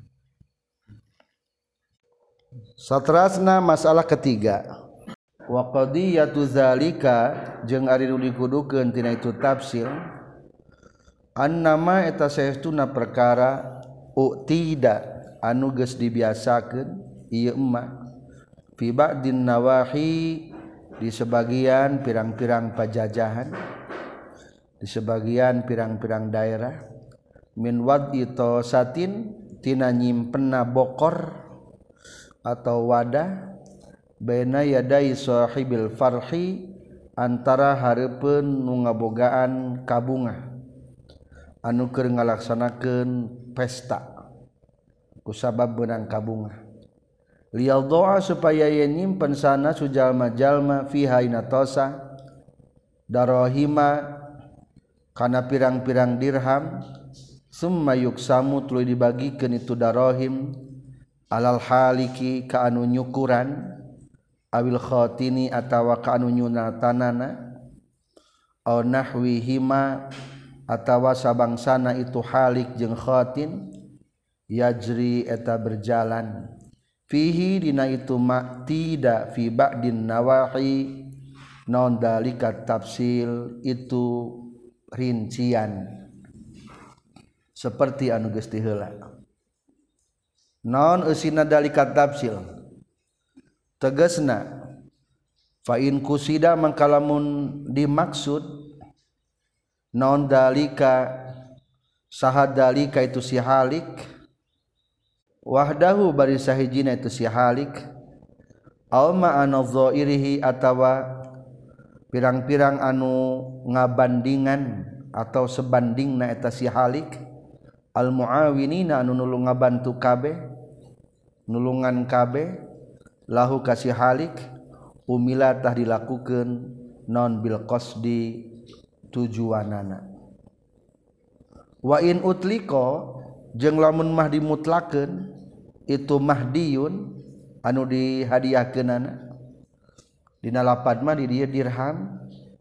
Satrasna masalah ketiga wa qadiyatu zalika jeung ari nu dikudukeun tina itu tafsir annama eta saestuna perkara uktida anu geus dibiasakeun ieu emma fi ba'din nawahi di sebagian pirang-pirang pajajahan di sebagian pirang-pirang daerah min wad'i tosatin tina nyimpenna bokor atau wadah baina yadai sahibil farhi antara hareupeun nu ngabogaan kabungah anu keur ngalaksanakeun pesta kusabab beunang kabungah lial doa supaya ia nyimpen sana sujalma-jalma fiha inatosa darohima kana pirang-pirang dirham summa yuksamu tuluy dibagikeun itu darohim alal haliki ka anu nyukuran awil khatini atawa ka anu nyunatanana aw nahwihima atawa sabangsana itu halik jeung khatin yajri eta berjalan fihi dina itu mak tidak fi ba'din nawahi non dalika tafsil itu rincian seperti anu geus diheula non eusina dalika tafsil tegasna fa in kusida mangkalamun dimaksud non dalika sahad dalika itu si halik wahdahu bari sahijina itu si halik aw ma'ana dhairihi atawa pirang-pirang anu ngabandingan atau sebandingna eta si halik al muawinina anu nulung ngabantu kabeh nulungan kabeh lahu ka si halik umila tah dilakukeun non bil qasdi tujuanana wa in utliqa jeung lamun mah dimutlakeun itu mahdiyun anu dihadiahkeunana dina lapad mah di dieu dirham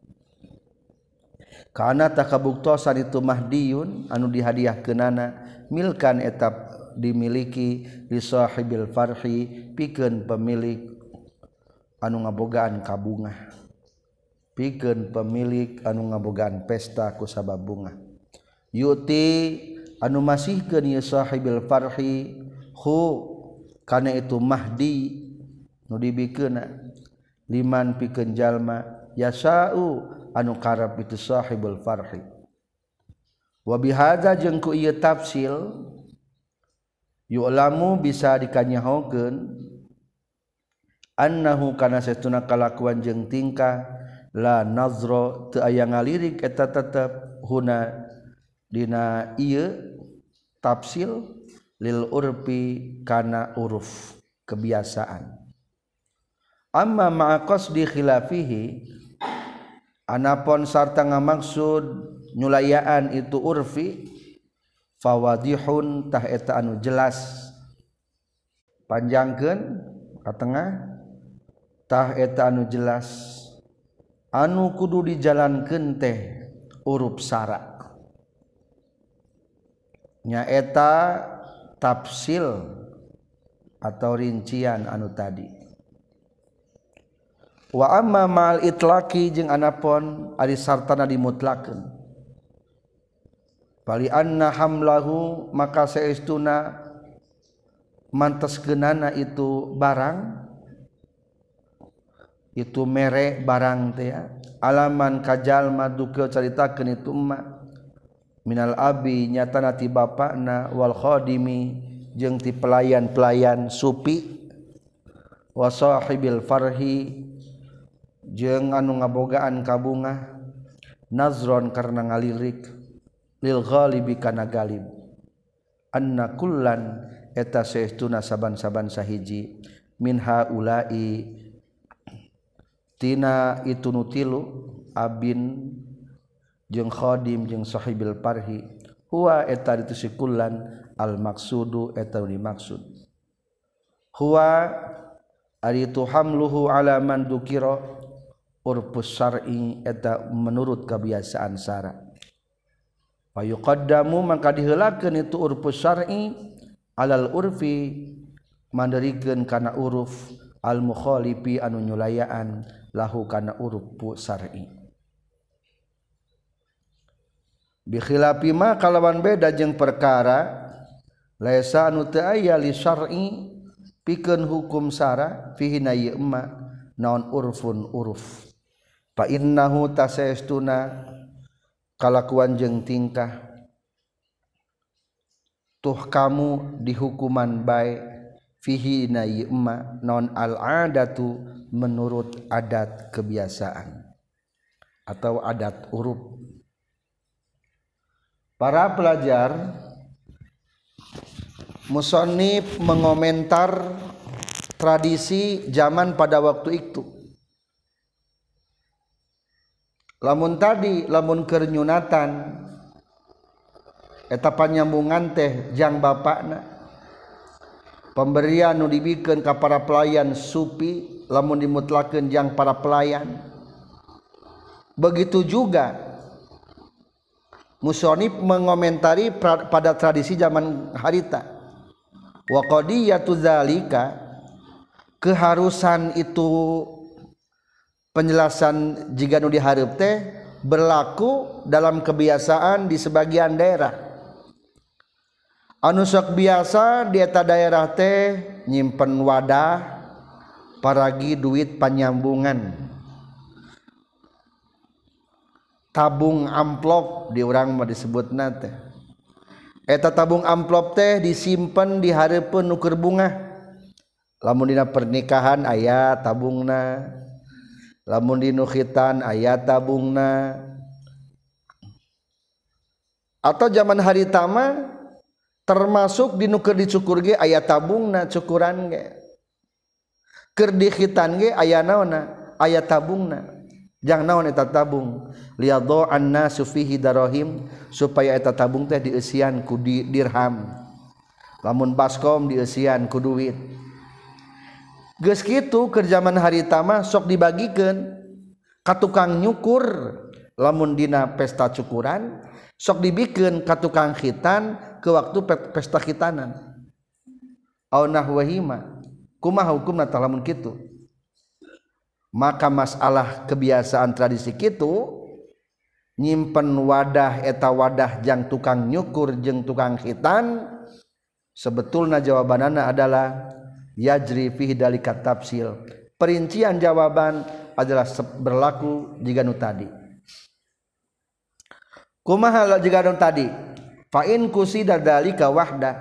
kana takabuktosan itu mahdiyun anu dihadiahkeunana milkan etap dimiliki li sahibil farhi pikeun pemilik anu ngabogaan kabungah pikeun pemilik anu ngabogaan pesta ku sabab bunga yuti anu masihkeun ieu sahibil farhi hu kana itu mahdi nu dibikeunna liman pikeun jalma yasau anu karep itu sahibul farhi wa bihadza jeung ku ieu tafsil yu'lamu bisa dikanyahokeun annahu kana satuna kalakuan jeung tingkah la nazra teu aya ngalirik eta tetep huna dina ieu tafsil lil urfi kana uruf kebiasaan amma ma'a qasdi khilafihi anapun sarta ngamaksud nyulayaan itu urfi fawadihun tah eta anu jelas panjangkeun ka tengah tah eta anu jelas anu kudu dijalankeun teh uruf sara nya eta tafsil atau rincian anu tadi wa amma ma'al itlaqi jeung anapun ari sartana dimutlakeun bali anna hamlahu maka saestuna manteskeunana itu barang itu mere barang teh alaman kajalma dukeun caritakeun itu emma minal abi nyatana ti bapana wal khadimi jeung ti pelayan-pelayan supi wa sahibil farhi jeung anu ngabogaan kabungah nazron karena ngalirik lil ghalibi kana galib anna kullan eta saestuna saban-saban sahiji min haula'i tina itu nutilu abin jeung khadim jeung sahibil parhi huwa eta ditu sikullan al maqsudu eta dimaksud huwa ari tu hamluhu ala man dukira urfus syar'i eta menurut kebiasaan syara fa yuqaddamu maka diheulakeun itu urfus syar'i alal urfi mandarikeun kana uruf al mukhalifi anu nyulayaan lahu kana uruf syar'i bi khilafi ma kalawan beda jeung perkara laisa anu teu aya li syar'i pikeun hukum syara fihi na ieu emma naon urfun uruf fa innahu tasaestuna kalakuan jeung tingkah tuh kamu dihukuman bae fihi na ieu emma naon al adatu menurut adat kebiasaan atau adat uruf. Para pelajar musannif mengomentar tradisi zaman pada waktu itu. Lamun tadi lamun keur nyunatan eta panyambungan teh jang bapakna pemberian nu dibikeun ka para pelayan supi lamun dimutlakeun jang para pelayan begitu juga musannif mengomentari pada tradisi zaman harita wa qadiyatu zalika keharusan itu penjelasan jika nu dihareup teh berlaku dalam kebiasaan di sebagian daerah anu sok biasa di eta daerah teh nyimpen wadah paragi duit panyambungan tabung amplop di urang mah disebutna teh eta tabung amplop teh disimpen di hareupeun nu keur bunga lamun dina pernikahan aya tabungna lamun dinu khitan aya tabungna atau zaman harita mah termasuk dinu keur dicukur ge aya tabungna cukuran ge keur di khitan ge aya naonna aya tabungna jang naon eta tabung liyadha'an nasu fihi darahim supaya eta tabung teh dieusian ku dirham lamun baskom dieusian ku duit geus kitu keur zaman harita mah sok dibagikeun ka tukang nyukur lamun dina pesta cukuran sok dibikeun ka tukang khitan ke waktu pesta khitanan au nahwahima kumaha hukumna tah lamun kitu maka masalah kebiasaan tradisi kitu nyimpen wadah eta wadah jang tukang nyukur jeung tukang khitan sebetulna jawabanana adalah yajri fihi dalika tafsil perincian jawaban adalah berlaku jika nu tadi. Kumaha jika nu tadi? Fa in kusida dzalika wahda.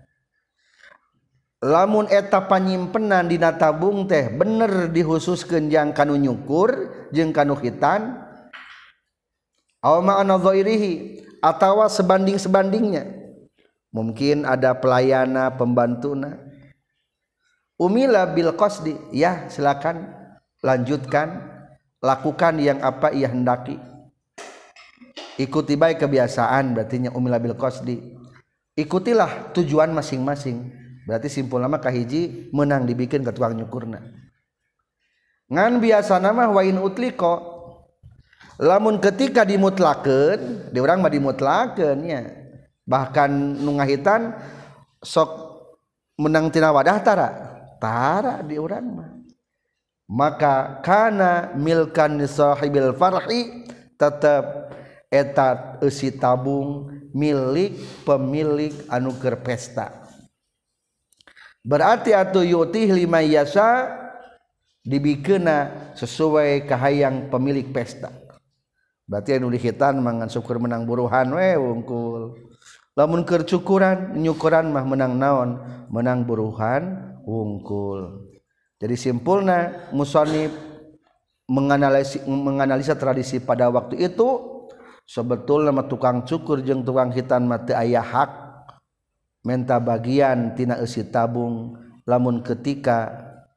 Lamun eta panyimpenan dina tabung teh bener dihususkeun jang kanu nyukur jeung kanu khitan, aw ma'ana dhairihi atawa sebanding-sebandingnya. Mungkin ada pelayana pembantuna. Umila bil qasdi, ya silakan lanjutkan, lakukan yang apa ia hendaki. Ikuti baik kebiasaan, berarti umila bil qasdi. Ikutilah tujuan masing-masing. Berarti simpul nama kahiji menang dibikin ke tukang nyukurna. Ngan biasa nama wa in utliko, lamun ketika dimutlakeun, di urang mah dimutlakeun nya. Bahkan nu ngahitan sok menang tina wadah tara di urang mah. Maka kana milkan sahibil farhi, tetep eta eusi tabung milik pemilik anu keur pesta. Berarti atuh yutih lima yasa dibikeuna sesuai kahayang pemilik pesta. Berarti anu dihitan mangan syukur menang buruhan we wungkul. Lamun keur cukuran nyukuran mah menang naon? Menang buruhan wungkul. Jadi simpulna musannif menganalisa tradisi pada waktu itu, sebetulna mah tukang cukur jeung tukang hitan mah teu aya hak menta bagian tina eusi tabung lamun ketika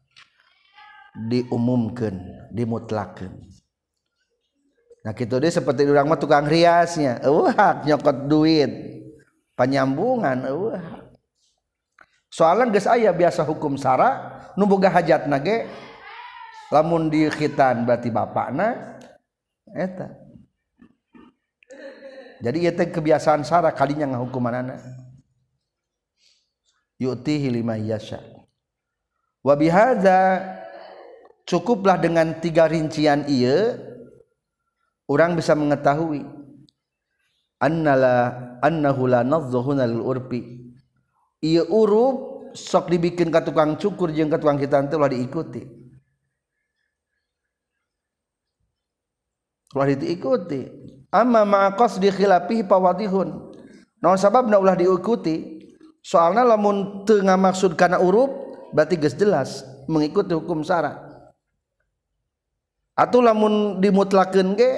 diumumkeun, dimutlakeun. Nah kitu deui seperti urang mah tukang riasnya, hak nyokot duit, panyambungan hak. Soalna geus aya biasa hukum sara nu boga hajatna ge lamun di khitan berarti bapakna eta. Jadi ieu teh kebiasaan sara kalinya ngahukumanana. Yu'tihi lima yasha. Wa bihadza cukuplah dengan 3 rincian ieu orang bisa mengetahui annahu la nadzuhuna lil urfi. Ieu uruf sok dibikin ka tukang cukur jeung ka tukang hitan teh ulah diikuti. Ulah diikuti. Amma ma'a qasdi khilafihi fawadihun. Naon sababna ulah diikuti? Soalna lamun teu ngamaksud kana uruf berarti geus jelas mengikuti hukum syara. Atuh lamun dimutlakeun ge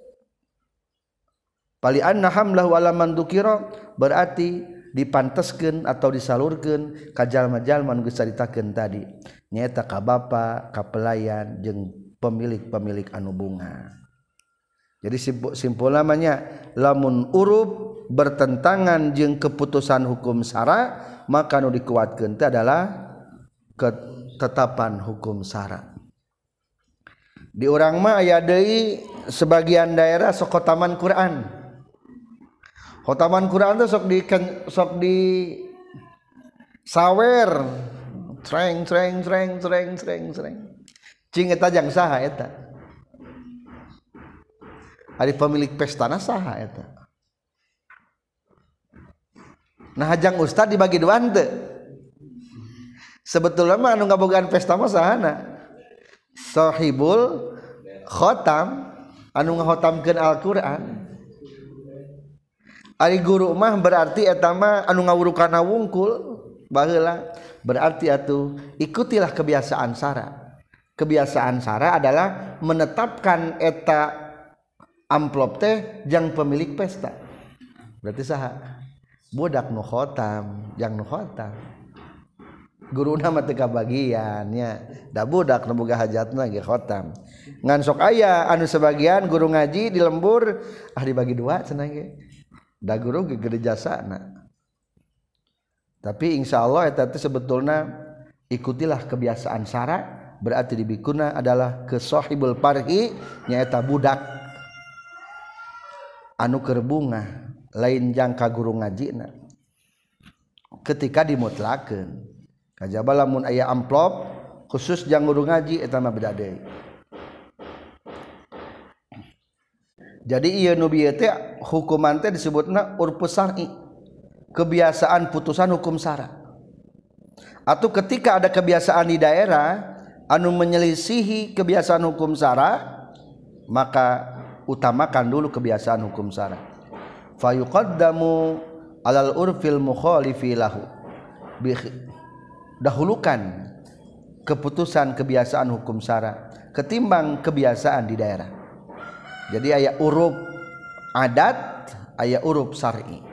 pali anna hamlahu ala man dzukira berarti dipanteskeun atau disalurkeun ka jalma-jalma nu geus caritakeun tadi nyaeta ka bapa, ka pelayan jeung pemilik-pemilik anu bunga. Jadi simpul namanya lamun uruf bertentangan jeung keputusan hukum syara maka nu dikuatkeun teh adalah ketetapan hukum syara. Di urang mah aya deui sebagian daerah sok khotaman Quran. Khotaman Quran teh sok di sawer treng. Cing eta jang saha eta? Ari pemilik pestana saha eta? Nah hajang ustad dibagi duaan teu. Sebetulna mah anu ngabogaan pesta mah sahana? Sahibul khotam anu ngakhotamkeun Al-Qur'an. Ari guru mah berarti eta mah anu ngawurukana wungkul baheula. Berarti atuh ikutilah kebiasaan sara. Kebiasaan sara adalah menetapkan eta amplop teh jang pemilik pesta. Berarti saha? Budak nu khotam, jang nu khotam. Guruna mah teu kabagian nya. Da budak nu boga hajatna ge khotam. Ngan sok aya anu sebagian guru ngaji di lembur dibagi 2 cenah ge. Da guru ge gede jasana. Tapi insyaallah eta teh sebetulna ikutilah kebiasaan sara berarti dibikuna adalah ke sahibul parhi nyaeta budak anu keur bunga. Lain jang ka guru ngajina ketika dimutlakeun kajaba lamun aya amplop khusus jang guru ngaji eta mah beda deui. Jadi ieu nu bieu teh hukuman teh disebutna urfus syar'i, kebiasaan putusan hukum syara. Atau ketika ada kebiasaan di daerah anu menyelisihi kebiasaan hukum syara maka utamakan dulu kebiasaan hukum syara. Fayuqaddamu alal urfil mukhalifi lahu, dahulukan keputusan kebiasaan hukum syara ketimbang kebiasaan di daerah. Jadi aya uruf adat, aya uruf syar'i.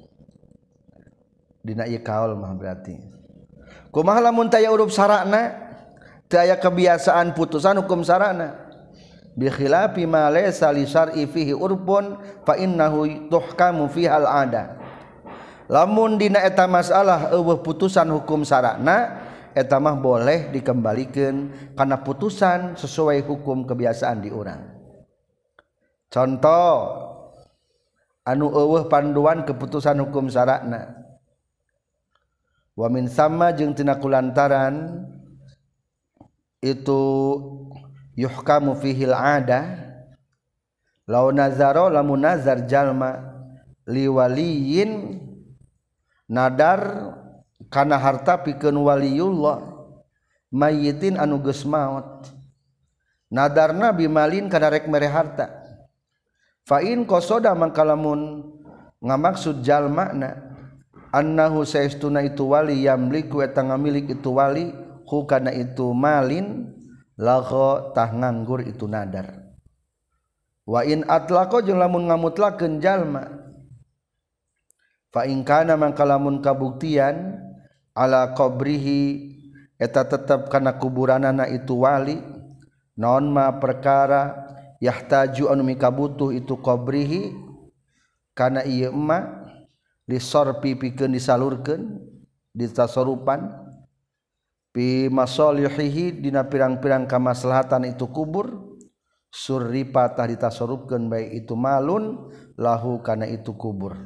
Dina ieu kaul mah berarti. Kumaha lamun teu aya uruf syara'na, teu aya kebiasaan putusan hukum syara'na. Bi khilafi ma laysa li syar'i fihi urfun fa innahu tuhkamu fiha al-'ada. Lamun dina eta masalah eueuh putusan hukum syara'na eta mah boleh dikembalikeun kana putusan sesuai hukum kebiasaan di urang. Contoh anu eueuh panduan keputusan hukum syara'na. Wa min sama jeung tina kulantaran itu yuhkamu fihil ada law nazaro lamun nazar jalma liwaliyin nadar kana harta pikeun waliyullah mayyitin anu geus maot nadarna bimalin kana rek mere harta fa in qasada mangkalamun ngamaksud jalmana annahu saestuna itu wali yamliku eta ngamilik itu wali hu kana itu malin lago tah nganggur itu nadar. Wa in atlaqo jeung lamun ngamutlakeun jalma fa in kana mangkalamun kabuktian ala qabrihi eta tetep kana kuburanana itu wali naon ma perkara yahtaju anu mikabutuh itu qabrihi kana ieu emma disorpi pikeun disalurkeun ditasorupan pi masalihihi dina pirang-pirang kamaslahatan itu kubur surripa tah ditasorupkeun bae itu malun lahu kana itu kubur.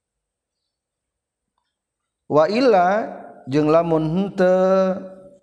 Wa illa jeung lamun henteu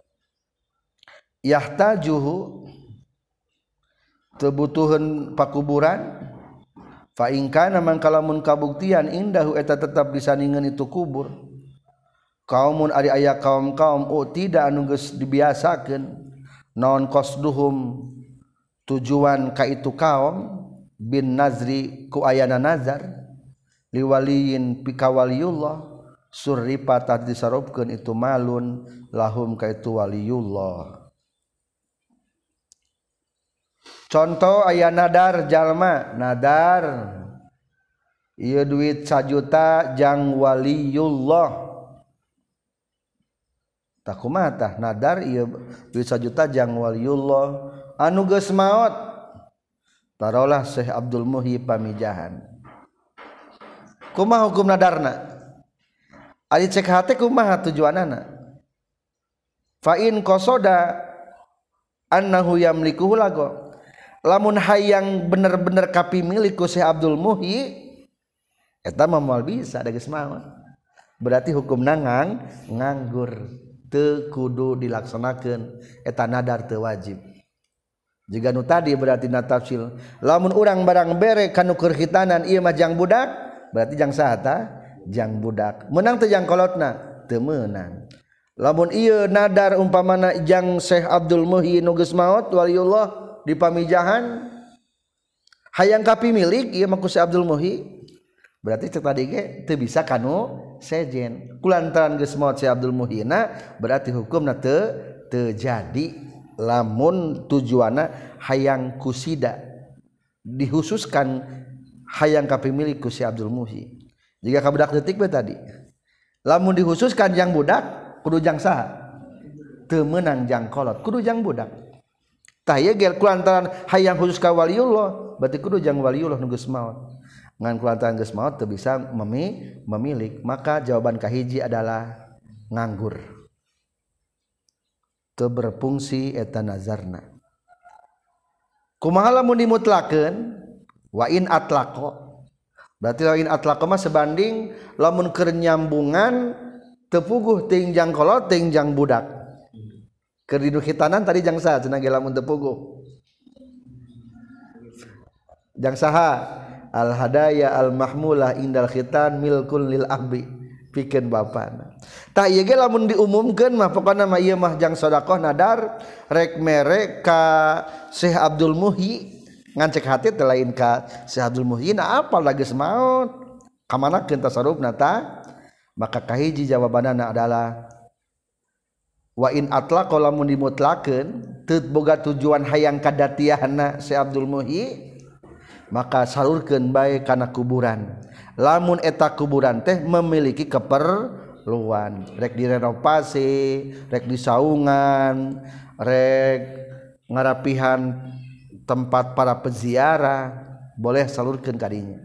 yahtajuhu teu butuheun pakuburan fa in kana mangkalamun kabuktian indahu eta tetap disandingeun itu kubur kaumun ari aya kaum-kaum tidak anu geus dibiasakeun naon qasduhum tujuan ka itu kaum bin nazri ku ayana nazar liwaliyin pikawaliyullah surripa tah disarupkeun itu malun lahum ka itu waliyullah. Contoh aya nadar jalma nadar ieu duit 1 juta jang waliyullah tak kumaha tah nadar ieu duit 1 juta jang waliyullah anu geus maot tarolah Syekh Abdul Muhyi Pamijahan. Kumaha hukum nadarna? Ari cek hate kumaha tujuanana? Fa in qasada annahu yamlikuhu lago lamun hayang bener-bener kapimilik ku Syekh Abdul Muhyi eta mah moal bisa da geus maot. Berarti hukum nangang nganggur teu kudu dilaksanakeun eta nadar teu wajib. Jiga nu tadi berarti na tafsil lamun urang barang bere kanu keur khitanan ieu mah jang budak berarti jang saha tah jang budak menang teu jang kolotna teu meunang. Lamun ieu nadar umpamana jang Syekh Abdul Muhyi nu geus maot waliullah di Pamijahan hayang kapimilik ieu mah ku Syekh Abdul Muhyi berarti cek tadi ge teu bisa kanu sejen kulantaran geus maot Syekh Abdul Muhyina berarti hukumna teu jadi lamun tujuanna hayang kusida dihususkan hayang kapimilik ku Syekh Abdul Muhyi. Jika ka budak detik we tadi lamun dihususkan jang budak kudu jang saha teu meunang jang kolot kudu jang budak tah ieu ge kulantaran hayang khusus ka waliullah berarti kudu jang waliullah nu geus maot ngan kulantaran geus maot teu bisa memilik maka jawaban kahiji adalah nganggur teu berfungsi eta nazarna. Kumaha lamun dimutlakeun wa in atlaqo berarti lain atlaqo mah sebanding lamun keur nyambungan teu puguh teuing jang kolot teuing jang budak keur di khitanan tadi jang saha cenah ge lamun teu puguh jang saha al hadaya al mahmulah indal khitan milkun lil ahbi pikeun bapana tah ieu ge lamun diumumkeun mah pokona mah ieu mah jang sedekah nadar rek mere ka Syekh Abdul Muhyi ngan cek hati teh lain ka Syekh Abdul Muhyi na apal da geus maot kamanakeun tasarrufna ta maka kahiji jawabanana adalah wa in atlaqa lamun dimutlakeun teu boga tujuan hayang kadatiahna Syekh Abdul Muhyi maka salurkeun bae kana kuburan lamun eta kuburan teh memiliki keperluan rek direnovasi rek disaungan rek ngarapihan tempat para peziarah boleh salurkeun kadinya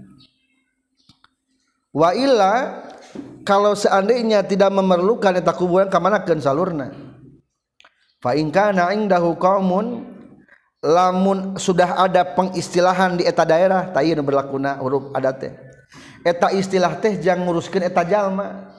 wa illa kalau seandainya tidak memerlukan eta kuburan kamanakeun salurna fa in kana indahu qaumun lamun sudah ada pengistilahan di eta daerah tah ieu nu berlakuna huruf adat teh eta istilah teh jang nguruskeun eta jalma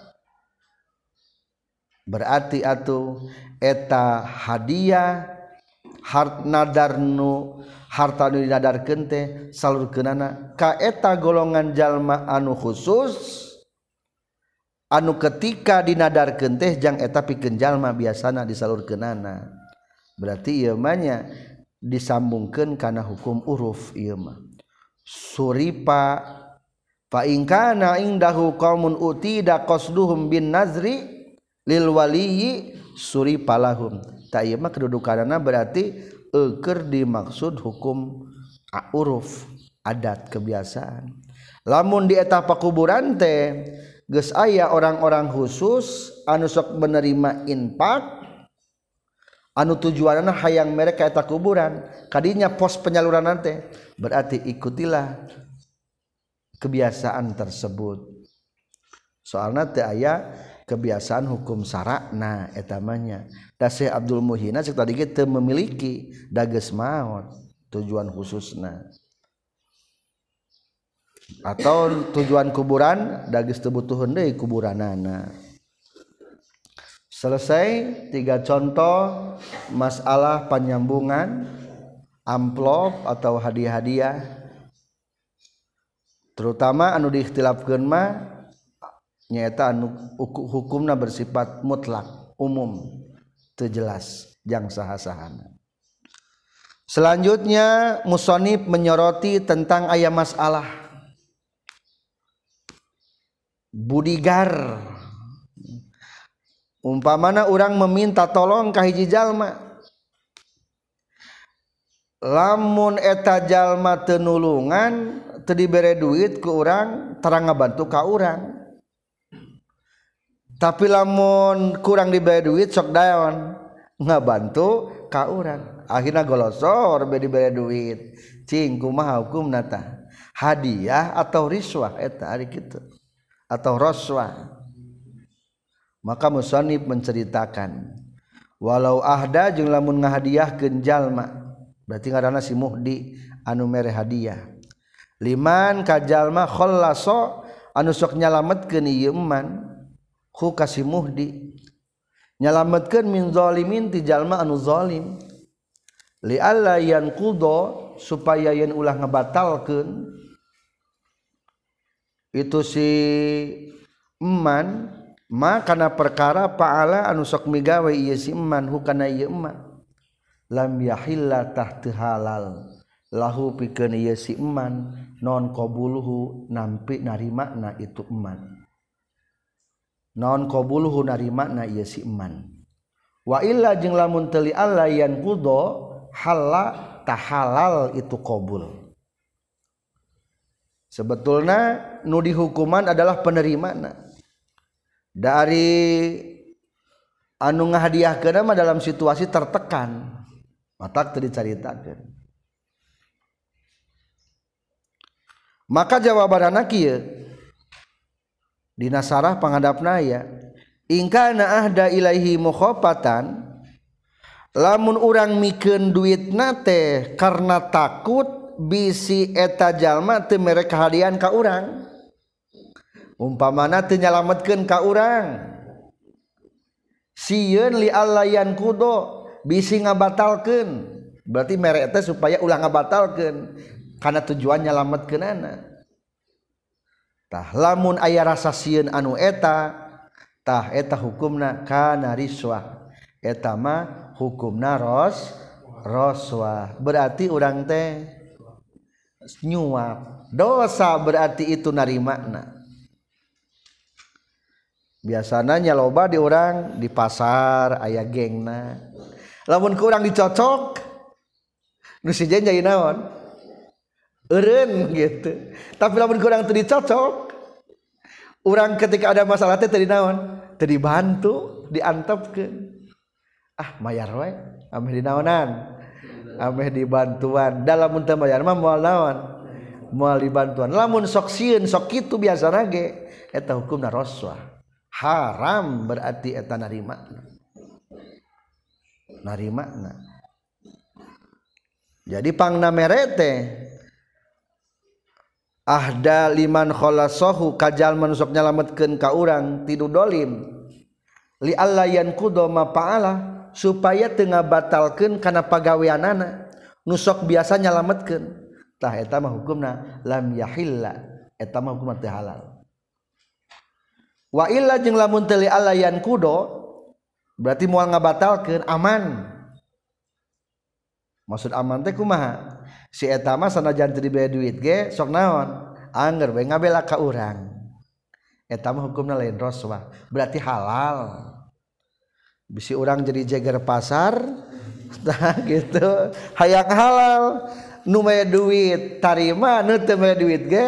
berarti atuh eta hadiah hart nadarnu harta nu dinadarkeun teh salurkeunana ka eta golongan jalma anu khusus anu ketika dinadarkeun teh jang eta pikeun jalma biasana disalurkeunana berarti ieu mah nya disambungkeun kana hukum uruf ieu mah suripa fa in kana indahu qaumun utida qasduhum bin nazri lil waliyyi suripa lahum ta ieu mah kedudukanana berarti keur dimaksud hukum uruf adat kebiasaan lamun di eta pakuburan teh geus aya orang-orang khusus anu sok menerima infak anu tujuanna hayang mereka eta kuburan kadinya pos penyaluran teh berarti ikutilah kebiasaan tersebut soalna teu aya kebiasaan hukum sarakna eta mah nya da Syekh Abdul Muhyi cek tadi ge teu memiliki da geus maot tujuan khususna atau tujuan kuburan da geus teu butuheun deui kuburanana selesai 3 contoh masalah penyambungan amplop atau hadiah-hadiah terutama anu diikhtilafkeun mah nyaeta anu hukumna bersifat mutlak umum teu jelas jang saha-sahana selanjutnya musannif menyoroti tentang aya masalah budigar umpamana urang meminta tolong ka hiji jalma lamun eta jalma teu nulungan teu dibere duit ku urang tarang ngabantu ka urang tapi lamun kurang dibere duit sok daon ngabantu ka urang akhirna golosor be dibere duit cing kumaha hukumna tah hadiah atau riswah eta ari kitu atau roswah maka musannif menceritakan walau ahda jeung lamun ngahadiahkeun jalma berarti ngaranna si muhdi anu mere hadiah liman ka jalma khallaso anu sok nyalametkeun ieu man ku ka si muhdi nyalametkeun min zalimin ti jalma anu zalim li alla yanqudo supaya yen ulah ngabatalkeun itu si eman makana perkara paala anu sok migawe ieu si eman hukana ieu eman lam yahilla tahtu halal lahu pikeun ieu si eman non qabuluhu nampi narimana itu eman non qabuluhu narimana ieu si eman wa illa jeung lamun teu li alla yan qudo halla tahalal itu qabul sebetulna nu dihukuman adalah penerimana dari anu ngahadiahkeun mah dalam situasi tertekan matak teu dicaritakeun maka jawabanna kieu dina sarah pangadapna ya in kana ahda ilaihi mukhafatan lamun urang mikeun duitna teh karena takut bisi eta jalma teu mere kahadian ka urang umpamana teu nyalametkeun ka urang sieun li allayan kudo bisi ngabatalkeun berarti mere teh supaya ulah ngabatalkeun kana tujuan nyalametkeunana tah lamun aya rasa sieun anu eta tah eta hukumna kana riswah eta mah hukumna roswah berarti urang teh nyuap dosa berarti itu narimana biasana nya loba di urang di pasar aya gengna lamun ku urang dicocok nu si jen jadi naon eureun gitu tapi lamun ku urang teu dicocok urang ketika ada masalah teh teu naon teu dibantu diantepkeun mayar we ameh dinaonan ameh dibantuan da lamun teu mayar mah moal naon moal dibantuan lamun sok sieun sok kitu biasana ge eta hukumna roswah haram berarti eta narimana jadi pangna merete ahda liman khalasahu kajal manusok nyalametkeun ka urang tidu dolim li alla yanqudu ma fa'ala supaya teu ngabatalkeun kana pagaweanana nusok biasa nyalametkeun tah eta mah hukumna lam yahilla eta mah hukumna teu halal wa illa jeung lamun teu li alla yanqudu berarti moal ngabatalkeun aman maksud aman teh kumaha si eta mah sanajan teu dibere duit ge sok naon angger we ngabela ka urang eta mah hukumna lain roswah berarti halal bisi urang jadi jeger pasar tah gitu hayang halal nu mere duit tarima nu teu mere duit ge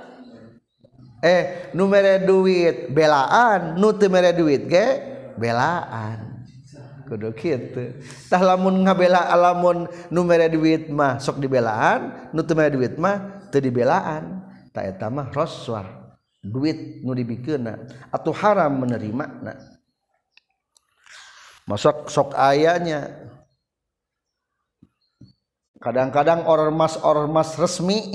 nu mere duit belaan nu teu mere duit ge belaan kudu kitu tah lamun ngabela lamun nu mere duit mah sok dibelaan nu teu mere duit mah teu dibelaan tah eta mah roswah duit nu dibikeunna atuh haram menerimana masuk sok ayanya kadang-kadang ormas resmi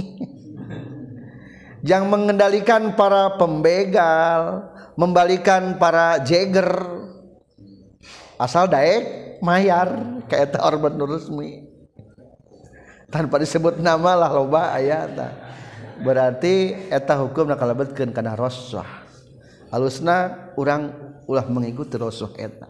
yang mengendalikan para pembegal membalikan para jeger asal daek mayar ka eta ormas resmi tanpa disebut nama lah loba aya tah berarti eta hukumna kalebetkeun kana roswah halusna urang ulah mengikuti roswah eta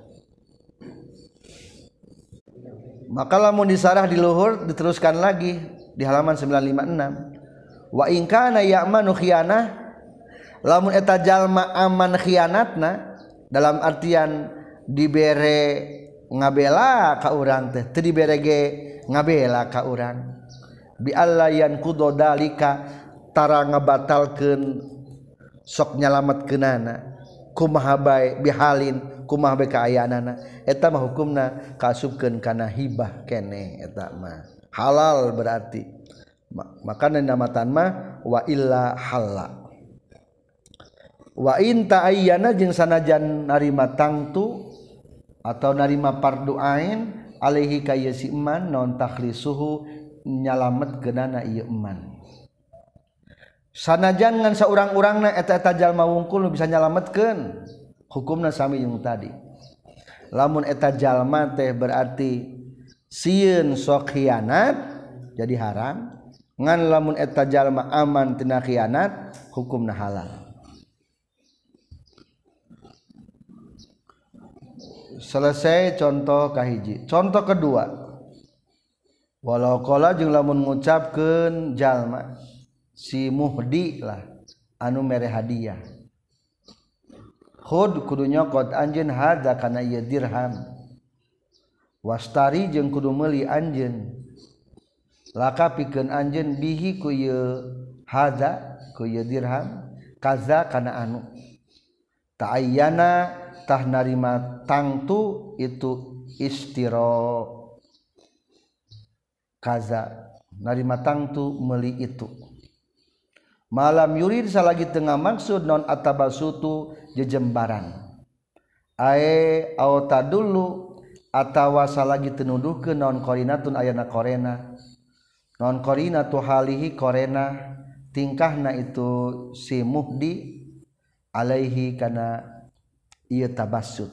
maka lamun disarah di luhur diteruskan lagi di halaman 956 wa in kana ya'manu khianah lamun eta jalma aman khianatna dalam artian dibere ngabela ka urang teh teu dibere ge ngabela ka urang bi alla yanqudu dalika tara ngabatalkeun sok nyalametkeunana kumaha bae bihalin kumaha bae kaayaanana eta mah hukumna kaasupkeun kana hibah keneh eta mah halal berarti maka namatan mah wa illa halla wa in ta'ayyana jeung sanajan narima tangtu atau narima fardu ain alaihi kaya si eman non takhlisuhu nyalametkeunana ieu eman sanajan ngan saurang-urangna eta jalma wungkul bisa nyalametkeun hukumna sami jeung tadi lamun eta jalma teh berarti sieun sok khianat jadi haram ngan lamun eta jalma aman tina khianat hukumna halal selesai contoh kahiji contoh kedua walau qala jeung lamun ngucapkeun jalma si muhdi lah anu mere hadiah khud kudu nyokot anjeun hadza kana ieu dirham wastari jeung kudu meuli anjeun laka pikeun anjeun bihi ku ieu hadza ku ieu dirham kaza kana anu ta'ayyana tah narima tangtu itu istiro kaza narima tangtu meuli itu malam yurid salagi tengah maksud non atabasutu jejembaran ae auta dulu atawa salagi tenuduhkeun non qarinatun ayana korena non qarinatu halihi korena tingkahna itu si muhdi alaihi kana ieu tabassut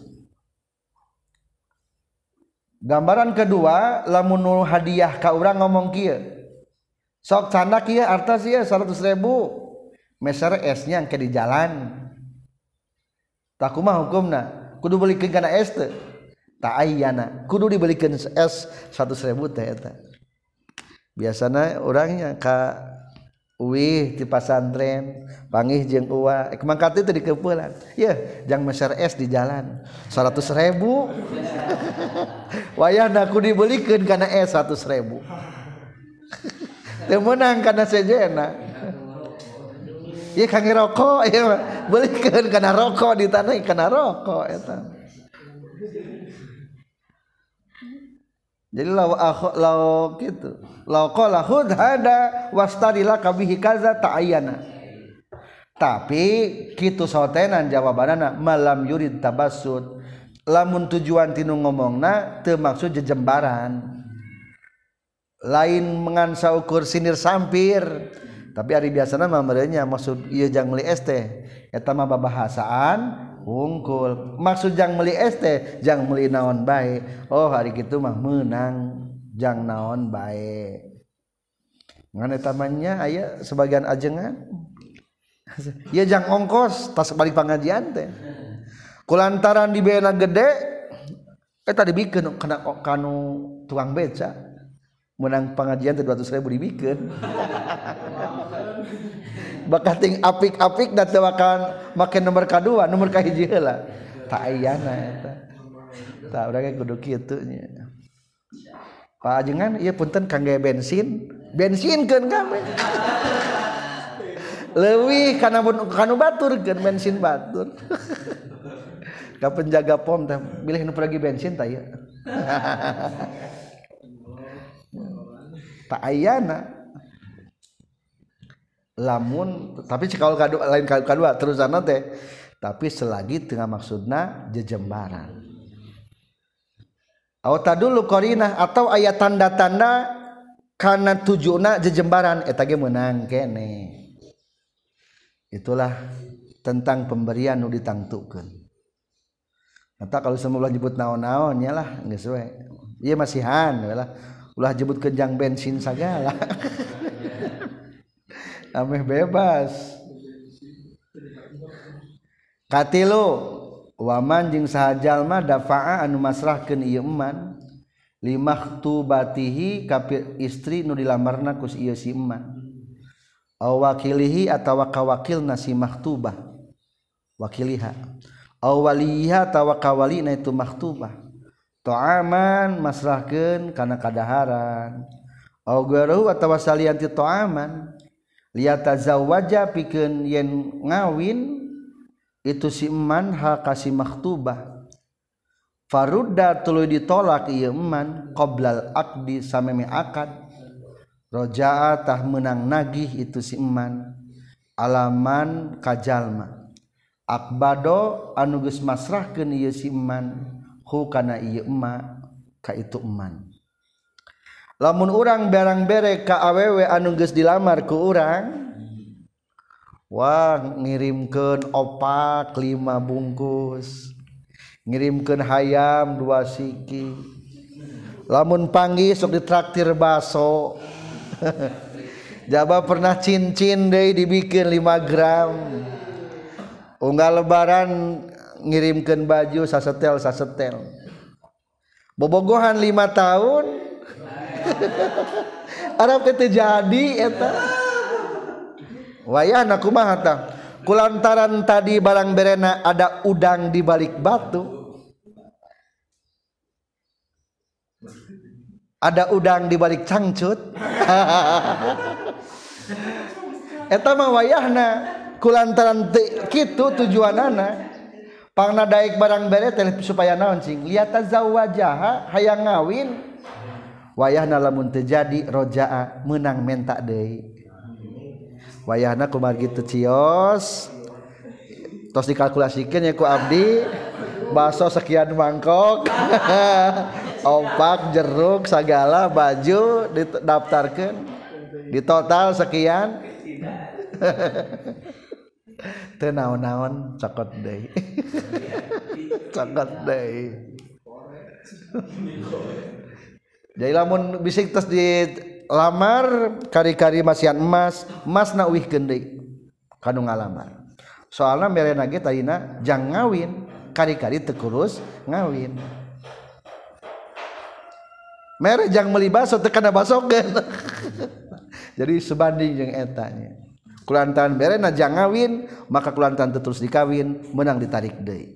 gambaran kedua lamun hadiah ka urang ngomong kieu sok candak ieu artos ieu 100.000 meser esnya yang ke di jalan tak kumaha hukumna kudu belikeun kana es teh tak ayyana kudu dibelikeun es 100.000 teh eta biasana orangnya ka uwih di pasantren panggih jeung uwa mangkat teh dikeupelan yeuh jang meser es di jalan 100.000 wayahna kudu dibelikeun kana es 100.000 teu meunang kana sejena ieu kangge rokok ieu belikeun kana rokok ditanai kana rokok eta jadi law gitu law qala khud hada wastadila kabihi kaza ta'ayyana tapi kitu sotenan jawabanana malam yurid tabassud lamun tujuan tinu ngomongna teu maksud jejembaran lain mengansa ukur sinir sampir tapi ari biasana mah merenya maksud ieu jang meuli es teh eta mah babahasaan wungkul maksud jang meuli es teh jang meuli naon bae oh hari kitu mah meunang jang naon bae ngan eta manya aya sebagian ajengan ieu jang ongkos tas balik pangajian teh kulantaran dibeena gede eta dibikeun kana kanu tukang beca menang pengajian teh 200.000 dibikeun bakating apik-apik da teu akan make nomor kadua nomor kahiji heula tak ayyana eta tah urang ge kudu kitu nya Pak ajengan ieu punten kangge bensinkeun kami leuwih kana kanu baturkeun bensin batur ka penjaga pom teh milih nu pergi bensin tah ieu tak ayyana lamun tapi cekal lain kadua terusana teh tapi selagi tengah maksudna jejembaran aw tadullu qarinah atau aya tanda-tanda kana tujuna jejembaran eta ge meunang kene itulah tentang pemberian nu ditangtukeun eta kalau semula nyebut naon-naon nya lah geus we ieu masihan we lah ulah nyebutkeun jang bensin sagala ameh bebas katilu waman jeung saha jalma dafa'a anu masrahkeun ieu eman limahtubatihi ka istri nu dilamarna ku ieu si eman aw wakilihi atawa ka wakilna si mahtubah wakiliha aw waliha atawa ka walina itu mahtubah ta'aman masrahkeun kana kadaharan aw garuh atawa salian ti ta'aman liyatazawwaja pikeun yen ngawin itu si eman ha kasih maktubah farudda tuluy ditolak ieu eman qoblal aqdi sameme akad roja'a tah meunang nagih itu si eman alaman kajalma akbado anu geus masrahkeun ieu si eman hu kana ieu emma ka itu eman lamun urang barang bere ka awewe anu geus dilamar ku urang wah ngirimkeun opak 5 bungkus ngirimkeun hayam 2 siki lamun panggih sok ditraktir baso jaba pernah cincin deui dibikeun 5 gram unggal lebaran ngirimkeun baju sasetel bobogohan 5 tahun Arab teh jadi eta wayahna kumaha tah kulantaran tadi barang berena ada udang di balik batu ada udang di balik cangcut eta mah wayahna kulantaran kitu tujuanana pangna daek barang bere teh supaya naon cing liat tazawwajaha hayang ngawin wayahna lamun teu jadi roja'a meunang menta deui wayahna kumaha kitu cios tos dikalkulasikeun nya ku abdi baso sekian mangkok opak jeruk sagala baju didaftarkeun di total sekian teu naon-naon cokot deui cokot deui jadi lamun bisik tos dilamar kari-kari masihan emas na uwihkeun deui kanu ngalamar soalna merena ge tadina jang ngawin kari-kari teu kurus ngawin mere jang meuli baso teu kana basokeun jadi sebanding jeung eta nya kulantaran merena jang ngawin maka kulantaran teu terus dikawin menang ditarik deui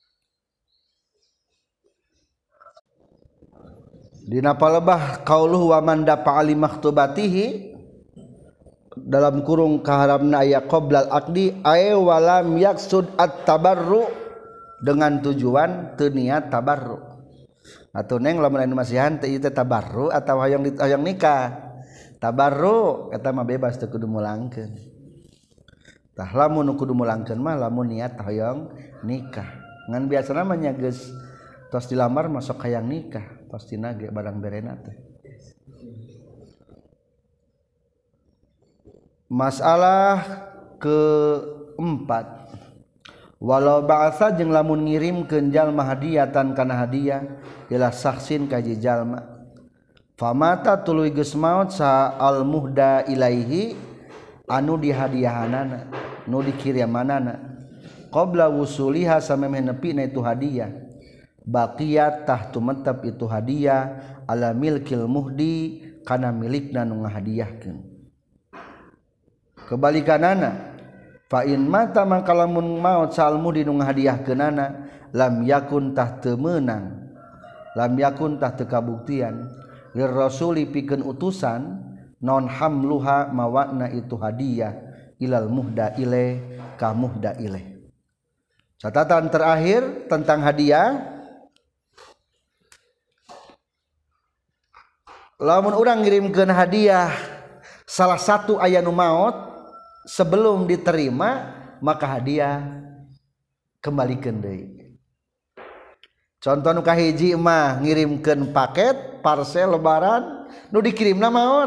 dina palebah qauluhu wa man dafa ali maktubatihi dalam kurung kaharamna aya qoblal aqdi ay walam yaksud at-tabarru dengan tujuan teu niat tabarru atuh neng lamun anu masihan teh ieu tabarru atawa hayang nikah tabarru eta mah bebas teu kudu mulangkeun tah lamun kudu mulangkeun mah lamun niat hayang nikah ngan biasana mah nya geus tos dilamar masuk hayang nikah pastina ge barang berena teh masalah keempat walau ba'asa jeung lamun ngirimkeun jalma hadiatan kana hadiah ila saksin ka jalma famata tuluy geus maot sa al muhda ilaihi anu dihadiahanana nu dikirimanana qabla wusuliha samemeh nepina itu hadiah baqiyat tah tumetep itu hadiah ala milkil muhdi kana milikna nu ngahadiahkeun kebalikanana fa in mata mangka lamun maot salmu di nu ngahadiahkeunana lam yakun tah teu meunang lam yakun tah teu kabuktian lir rasuli pikeun utusan non hamluha mawakna itu hadiah ilal muhda ile ka muhda ile catatan terakhir tentang hadiah lamun urang ngirimkeun hadiah salah satu aya nu maot sebelum diterima maka hadiah kembalikan deui. Contoh nu kahiji mah ngirimkeun paket parcel lebaran nu dikirimna maot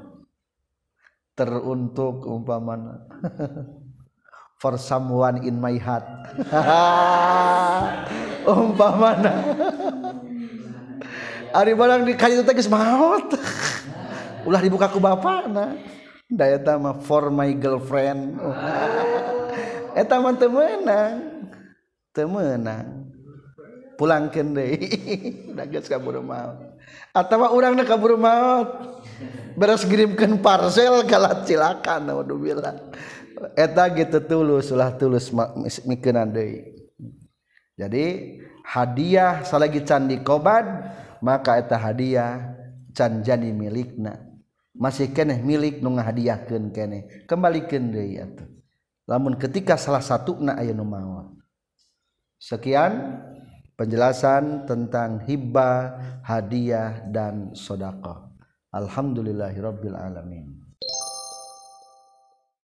teruntuk umpamana for someone in my heart umpamana ari barang di kali teh geus maot ulah dibuka ku bapana da eta mah for my girlfriend eta mah teu meunang pulangkeun deui da geus kaburu maot atawa urangna kaburu maot beres ngirimkeun parcel kalah cilakan naudzubillah eta gitu tulus ulah tulus mikeunan deui jadi hadiah salagi can dikobad maka eta hadiah can jadi milikna masih keneh milik nu ngahadiahkeun keneh kembalikeun deui atuh lamun ketika salah satuna aya nu maot. Sekian penjelasan tentang hibah, hadiah dan sedekah. Alhamdulillahirabbil alamin.